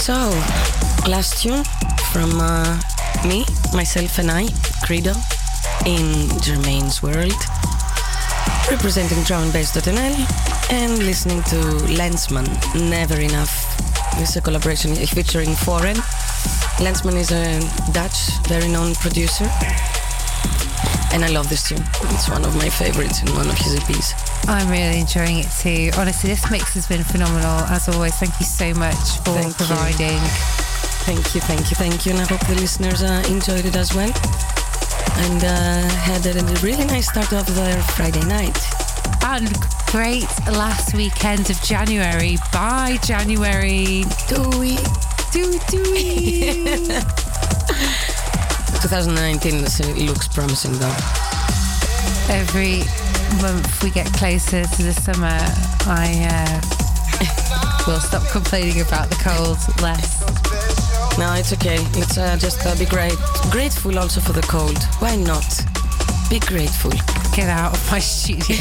So, last tune from uh, me, myself and I, Credo, in Jermaine's World, representing drum and bass dot n l and listening to Lensman, Never Enough. This is a collaboration featuring Foreign. Lensman is a Dutch, very known producer, and I love this tune. It's one of my favorites in one of his E Ps. I'm really enjoying it too. Honestly, this mix has been phenomenal. As always, thank you so much for Thank you. providing. Thank you, thank you, thank you. And I hope the listeners uh, enjoyed it as well. And uh, had a really nice start of their Friday night. And great last weekend of January. Bye, January. Dooey. Dooey, dooey. twenty nineteen looks promising though. Every month we get closer to the summer, I uh, will stop complaining about the cold less. No, it's okay. Let's uh, just uh, be great, grateful also for the cold. Why not? Be grateful. Get out of my studio.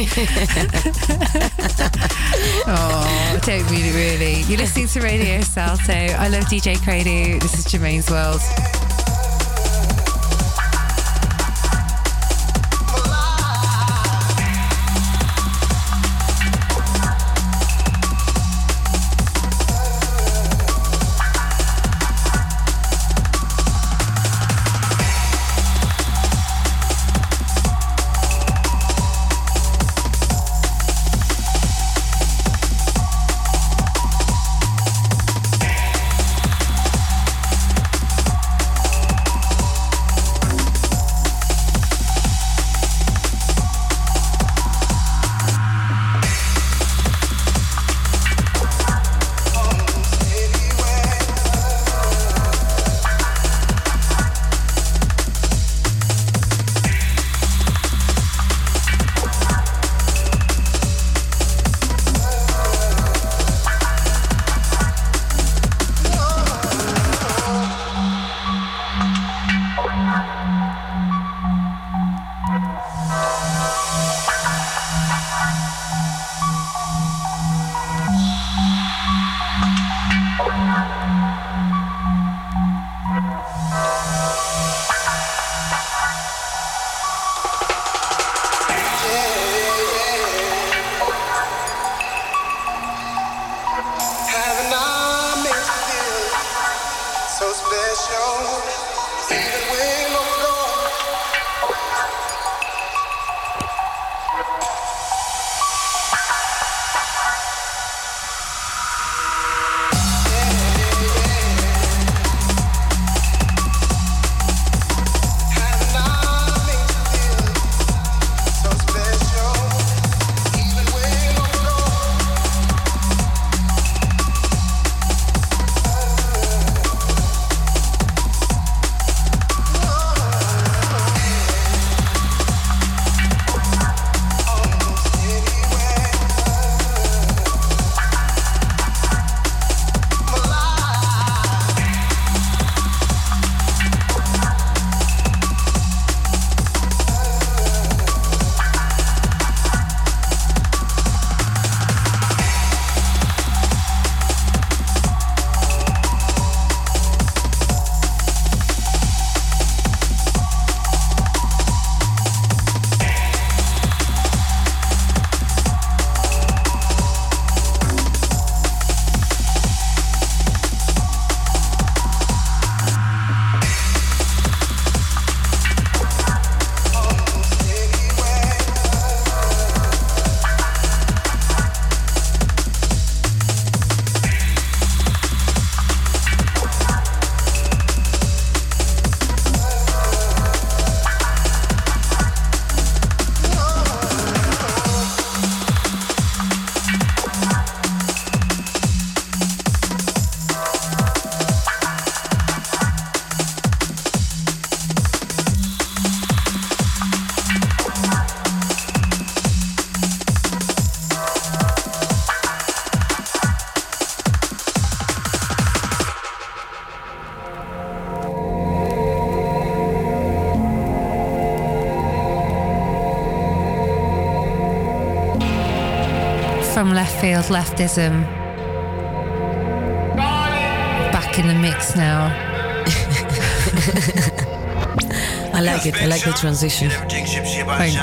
Oh, don't mean it really. You're listening to Radio Salto. I love D J Credo. This is Jermaine's World. From left field, leftism. in the mix now. I like it. I like the transition. Thanks.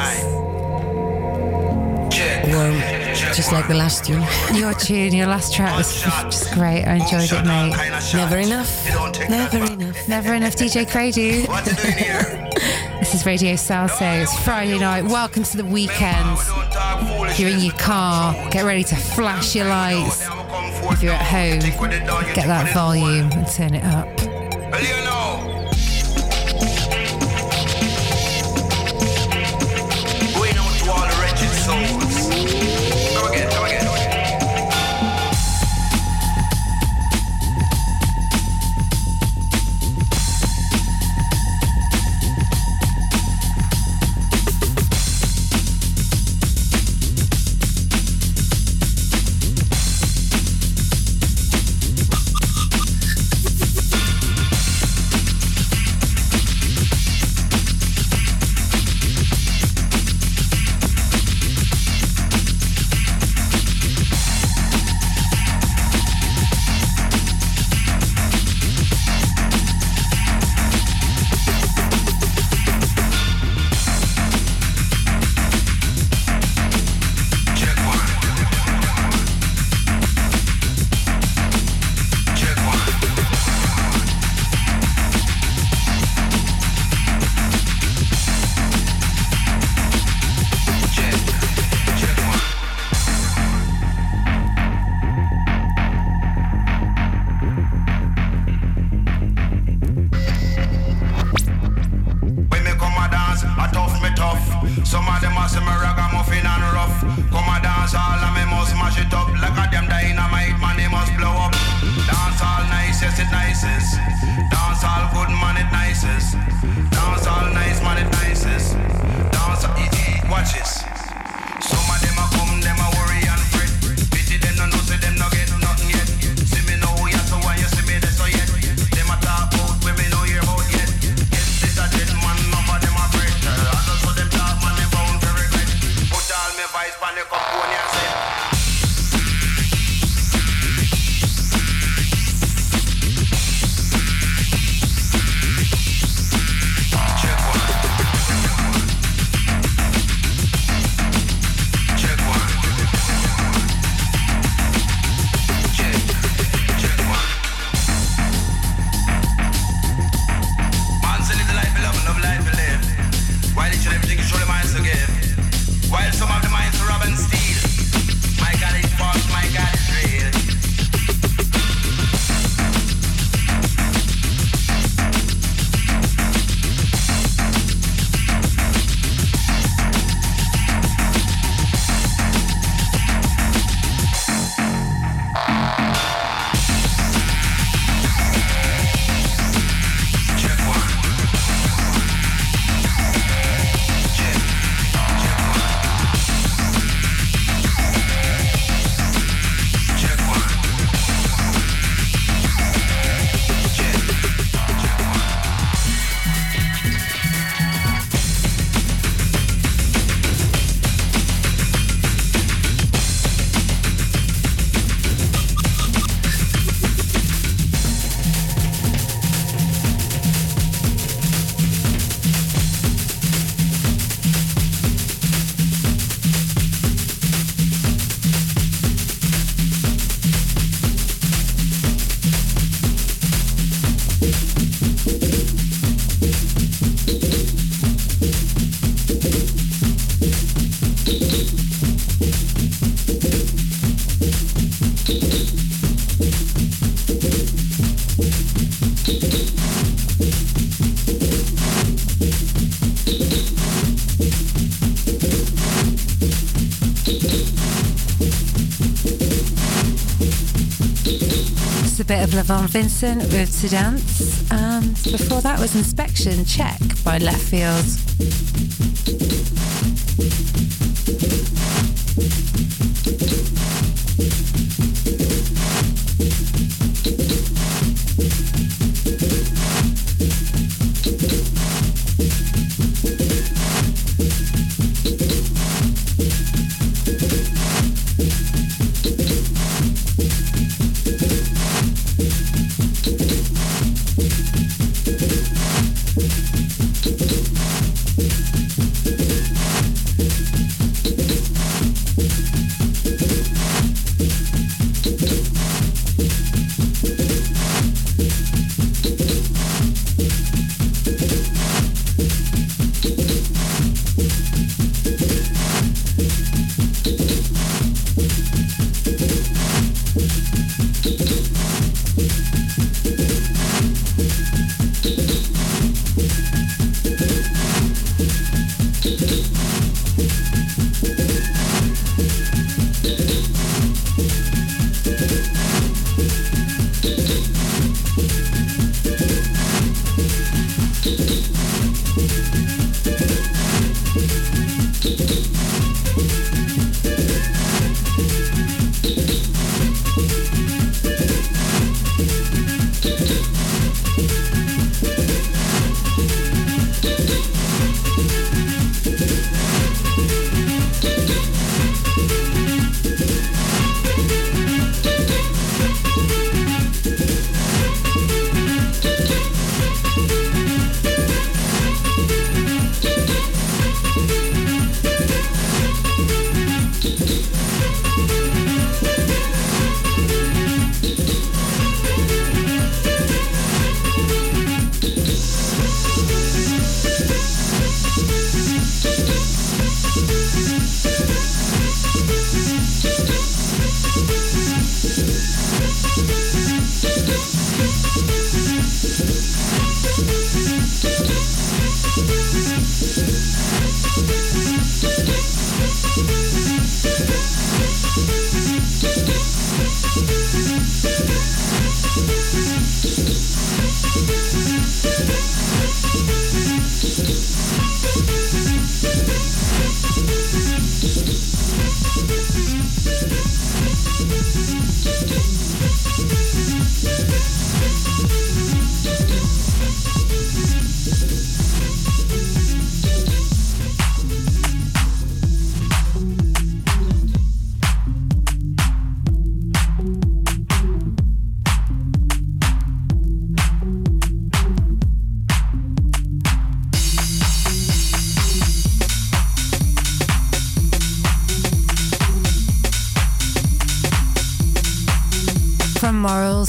Warm, just like the last tune. Your tune, your last track was just great. I enjoyed it, mate. Never enough. Never enough. Never enough, D J Cradu. This is Radio Salso. It's Friday night. Welcome to the weekend. If you're in your car, get ready to flash your lights. If you're at home, get that volume and turn it up. Going out to all the wretched souls. Come again, come again. bit of Lavon Vincent with To Dance, and before that was Inspection Check by Left Field.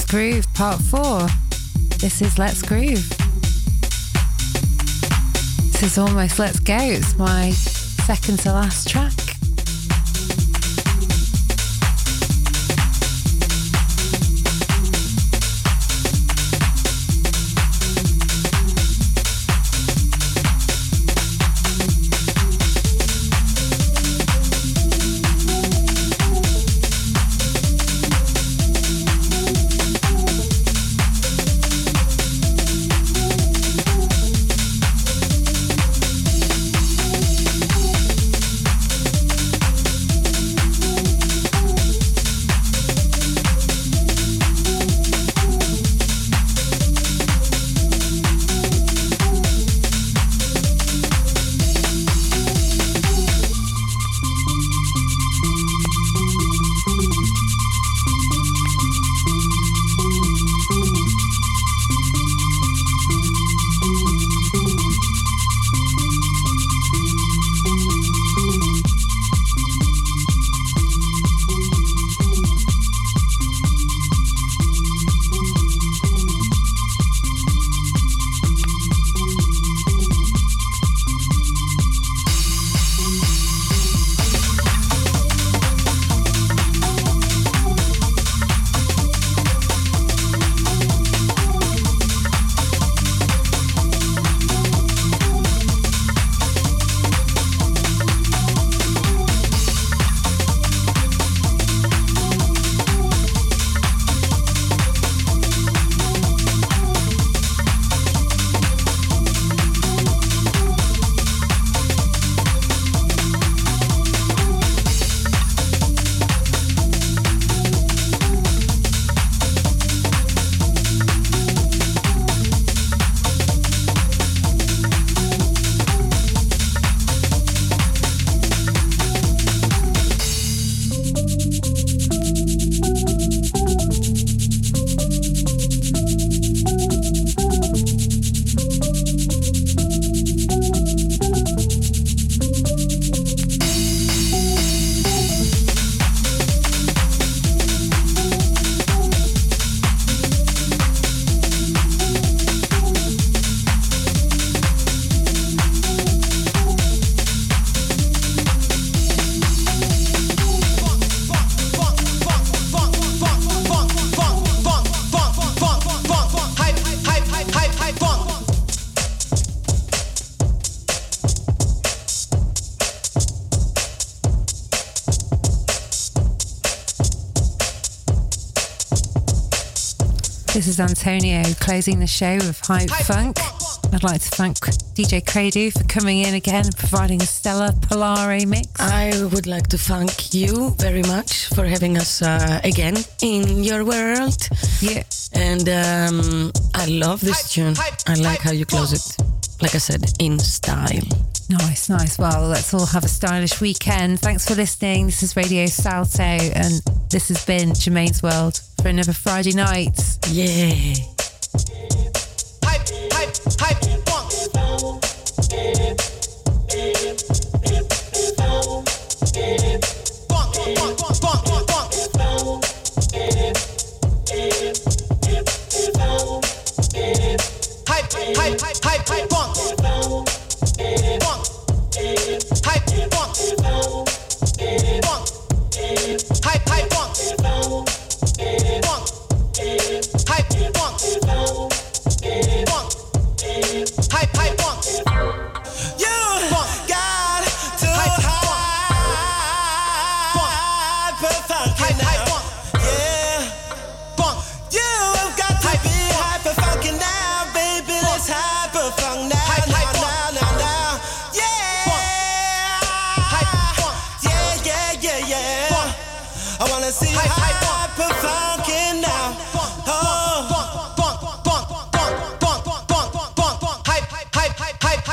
Let's Groove Part four. This is Let's Groove. This is almost Let's Go. It's my second to last track. This is Antonio closing the show with Hype Funk. I'd like to thank D J Credu for coming in again and providing a stellar Polare mix. I would like to thank you very much for having us uh, again in your world. Yeah. And um, I love this tune. I like how you close it. Like I said, in style. Nice, nice. Well, let's all have a stylish weekend. Thanks for listening. This is Radio Salto, and this has been Jermaine's World for another Friday night. Yeah. Hype, hype, hype, funk. Funk, funk, funk, funk, funk. Hype, hype, hype, hype, hype, funk. Funk. Hype, funk. Funk. Hype, hype, funk. Funk. Hype, funk. Funk. Hype, hype, funk. You got to hyper funky now. Yeah. Funk. You've got to be hyper funky now, baby. Let's hyper funk now. Hype, hype, now, now, now. Yeah. Yeah, yeah, yeah, yeah. I wanna see you hyper funky now. Oh. Funk, funk, funk, funk, funk, funk, funk, funk, funk, hype, hype, hype, hype, hype.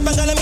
up and gonna